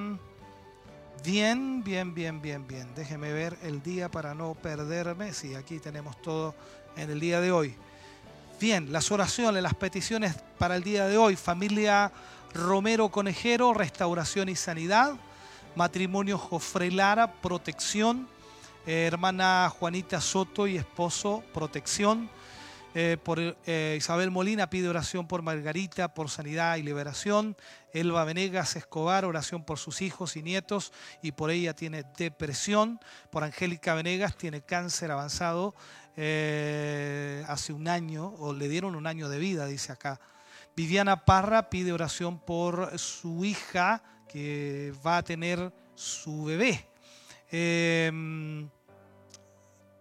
bien, bien, bien, bien, bien. Déjeme ver el día para no perderme. Sí, aquí tenemos todo en el día de hoy. Bien, las oraciones, las peticiones para el día de hoy. Familia Romero Conejero, restauración y sanidad. Matrimonio Jofre Lara, protección. Eh, hermana Juanita Soto y esposo, protección. Eh, por eh, Isabel Molina pide oración por Margarita, por sanidad y liberación. Elba Venegas Escobar, oración por sus hijos y nietos y por ella tiene depresión. Por Angélica Venegas tiene cáncer avanzado eh, hace un año, o le dieron un año de vida, dice acá. Viviana Parra pide oración por su hija que va a tener su bebé. Eh,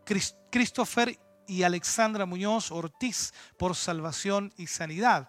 Chris- Christopher y Alexandra Muñoz Ortiz por salvación y sanidad.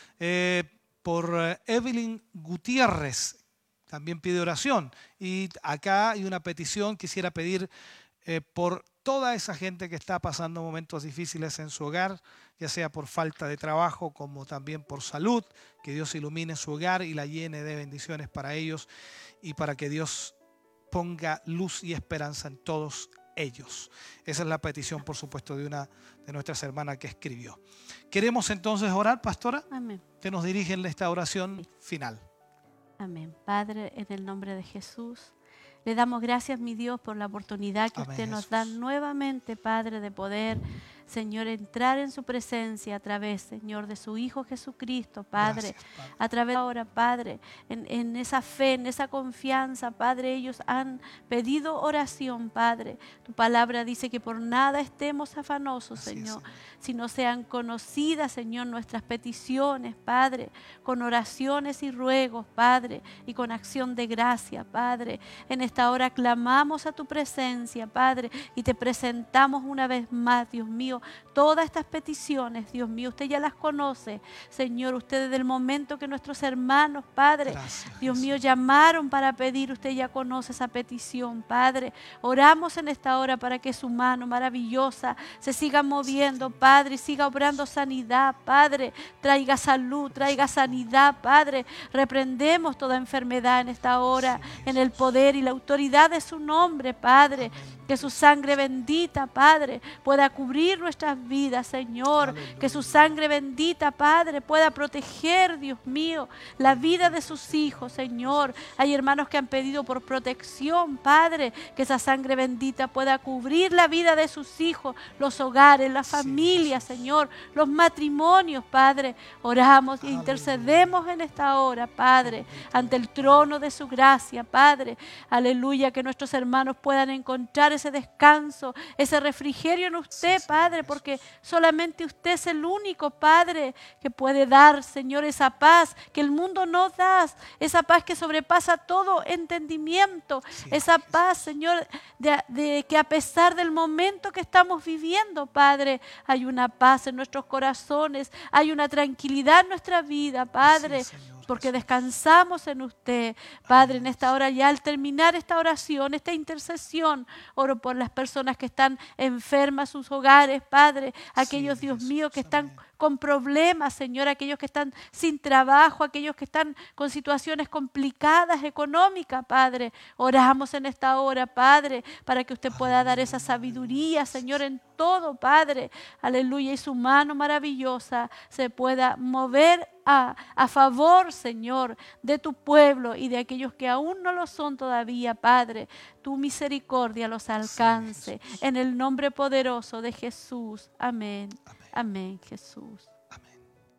Eh, por eh, Evelyn Gutiérrez también pide oración. Y acá hay una petición, quisiera pedir eh, por toda esa gente que está pasando momentos difíciles en su hogar, ya sea por falta de trabajo como también por salud, que Dios ilumine su hogar y la llene de bendiciones para ellos y para que Dios ponga luz y esperanza en todos ellos. Esa es la petición, por supuesto, de una de nuestras hermanas que escribió. Queremos entonces orar, pastora. Amén. Que nos dirigen esta oración final. Amén. Padre, en el nombre de Jesús, le damos gracias, mi Dios, por la oportunidad que Amén, usted nos Jesús. da nuevamente, Padre, de poder, Señor, entrar en su presencia a través, Señor, de su Hijo Jesucristo, Padre. Gracias, Padre. A través de ahora, Padre, en, en esa fe, en esa confianza, Padre, ellos han pedido oración, Padre. Tu palabra dice que por nada estemos afanosos, Así es, Señor, Señor. sino sean conocidas, Señor, nuestras peticiones, Padre, con oraciones y ruegos, Padre, y con acción de gracia, Padre. En esta hora clamamos a tu presencia, Padre, y te presentamos una vez más, Dios mío, todas estas peticiones, Dios mío, usted ya las conoce, Señor, usted desde el momento que nuestros hermanos, Padre, Gracias, Dios mío, Jesús. llamaron para pedir, usted ya conoce esa petición, Padre. Oramos en esta hora para que su mano maravillosa se siga moviendo, Padre, y siga obrando sanidad, Padre. Traiga salud, traiga sanidad, Padre. Reprendemos toda enfermedad en esta hora, en el poder y la autoridad de su nombre, Padre. Que su sangre bendita, Padre, pueda cubrir nuestras vidas, Señor. Aleluya. Que su sangre bendita, Padre, pueda proteger, Dios mío, la vida de sus hijos, Señor. Hay hermanos que han pedido por protección, Padre, que esa sangre bendita pueda cubrir la vida de sus hijos, los hogares, las Sí, familias, Jesús. Señor, los matrimonios, Padre. Oramos e Aleluya. intercedemos en esta hora, Padre, ante el trono de su gracia, Padre. Aleluya, que nuestros hermanos puedan encontrar ese descanso, ese refrigerio en usted, Sí, Señor Padre, Jesús. porque solamente usted es el único, Padre, que puede dar, Señor, esa paz que el mundo no da, esa paz que sobrepasa todo entendimiento, Sí, esa Jesús. paz, Señor, de, de que a pesar del momento que estamos viviendo, Padre, hay una paz en nuestros corazones, hay una tranquilidad en nuestra vida, Padre. Así es, Señor Porque Jesús. descansamos en usted, Padre, en esta hora ya al terminar esta oración, esta intercesión, oro por las personas que están enfermas, sus hogares, Padre, aquellos, Sí, Dios Jesús, mío, que están amén. con problemas, Señor, aquellos que están sin trabajo, aquellos que están con situaciones complicadas, económicas, Padre. Oramos en esta hora, Padre, para que usted pueda dar esa sabiduría, Señor, en todo, Padre. Aleluya, y su mano maravillosa se pueda mover a, a favor, Señor, de tu pueblo y de aquellos que aún no lo son todavía, Padre. Tu misericordia los alcance. Jesús. En el nombre poderoso de Jesús. Amén. Amén. Amén, Jesús. Amén.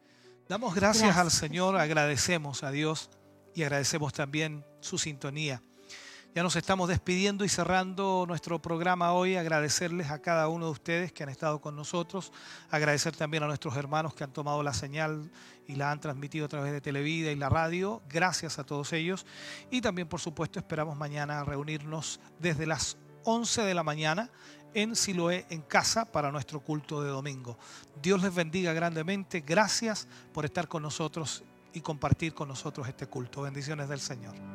Damos gracias, Gracias, al Señor, agradecemos a Dios y agradecemos también su sintonía. Ya nos estamos despidiendo y cerrando nuestro programa hoy. Agradecerles a cada uno de ustedes que han estado con nosotros. Agradecer también a nuestros hermanos que han tomado la señal y la han transmitido a través de Televida y la radio. Gracias a todos ellos. Y también, por supuesto, esperamos mañana reunirnos desde las once de la mañana en Siloé, en casa, para nuestro culto de domingo. Dios les bendiga grandemente. Gracias por estar con nosotros y compartir con nosotros este culto. Bendiciones del Señor.